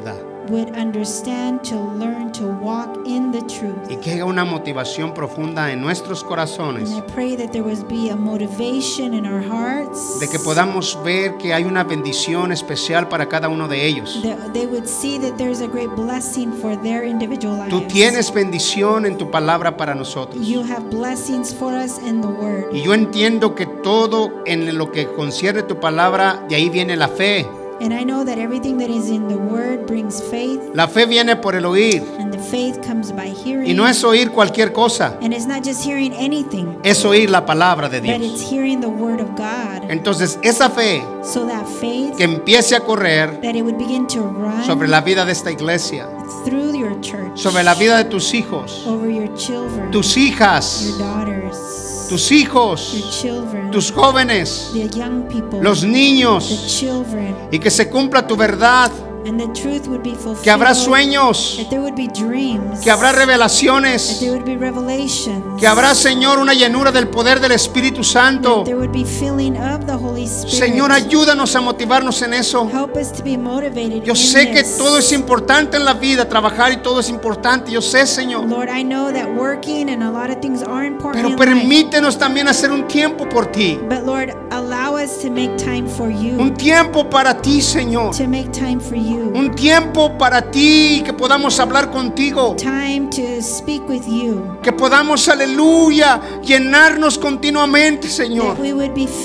would understand, to learn, to walk in the truth. y que haya una motivación profunda en nuestros corazones And I pray that there would be a motivation in our hearts, de que podamos ver que hay una bendición especial para cada uno de ellos. that they would see that there's a great blessing for their individual lives. Tú tienes bendición en tu palabra para nosotros. You have blessings for us in the Word. Y yo entiendo que todo en lo que concierne tu palabra, de ahí viene la fe. And I know that everything that is in the Word brings faith, La fe viene por el oír. and the faith comes by hearing. Y no es oír cualquier cosa, And it's not just hearing anything, es oír la palabra de but it's Dios. hearing the Word of God. Entonces esa fe So that faith, que empiece a correr that it would begin to run sobre la vida de esta iglesia, through your church, sobre la vida de tus hijos, over your children, tus your hijas, daughters, tus your hijos, children, tus jóvenes, the young people, los the niños, children, y que se cumpla tu verdad, and the truth would be fulfilled. que habrá sueños, That there would be dreams, que habrá that revelaciones, there would be revelations, que habrá, Señor, una llenura del poder del Espíritu that Santo. there would be filling of the Holy Spirit. Señor, ayúdanos a motivarnos en eso. Help us to be motivated. Yo in sé que this. todo es importante en la vida, trabajar y todo es importante. Yo sé, Señor. Lord, I know that working and a lot of things are important Pero in life. permítenos también hacer un tiempo por ti. But Lord, allow us to make time for you. Un tiempo para ti, Señor. To make time for you. Un tiempo para ti, que podamos hablar contigo. Time to speak with you. Que podamos, aleluya, llenarnos continuamente, Señor. That we would be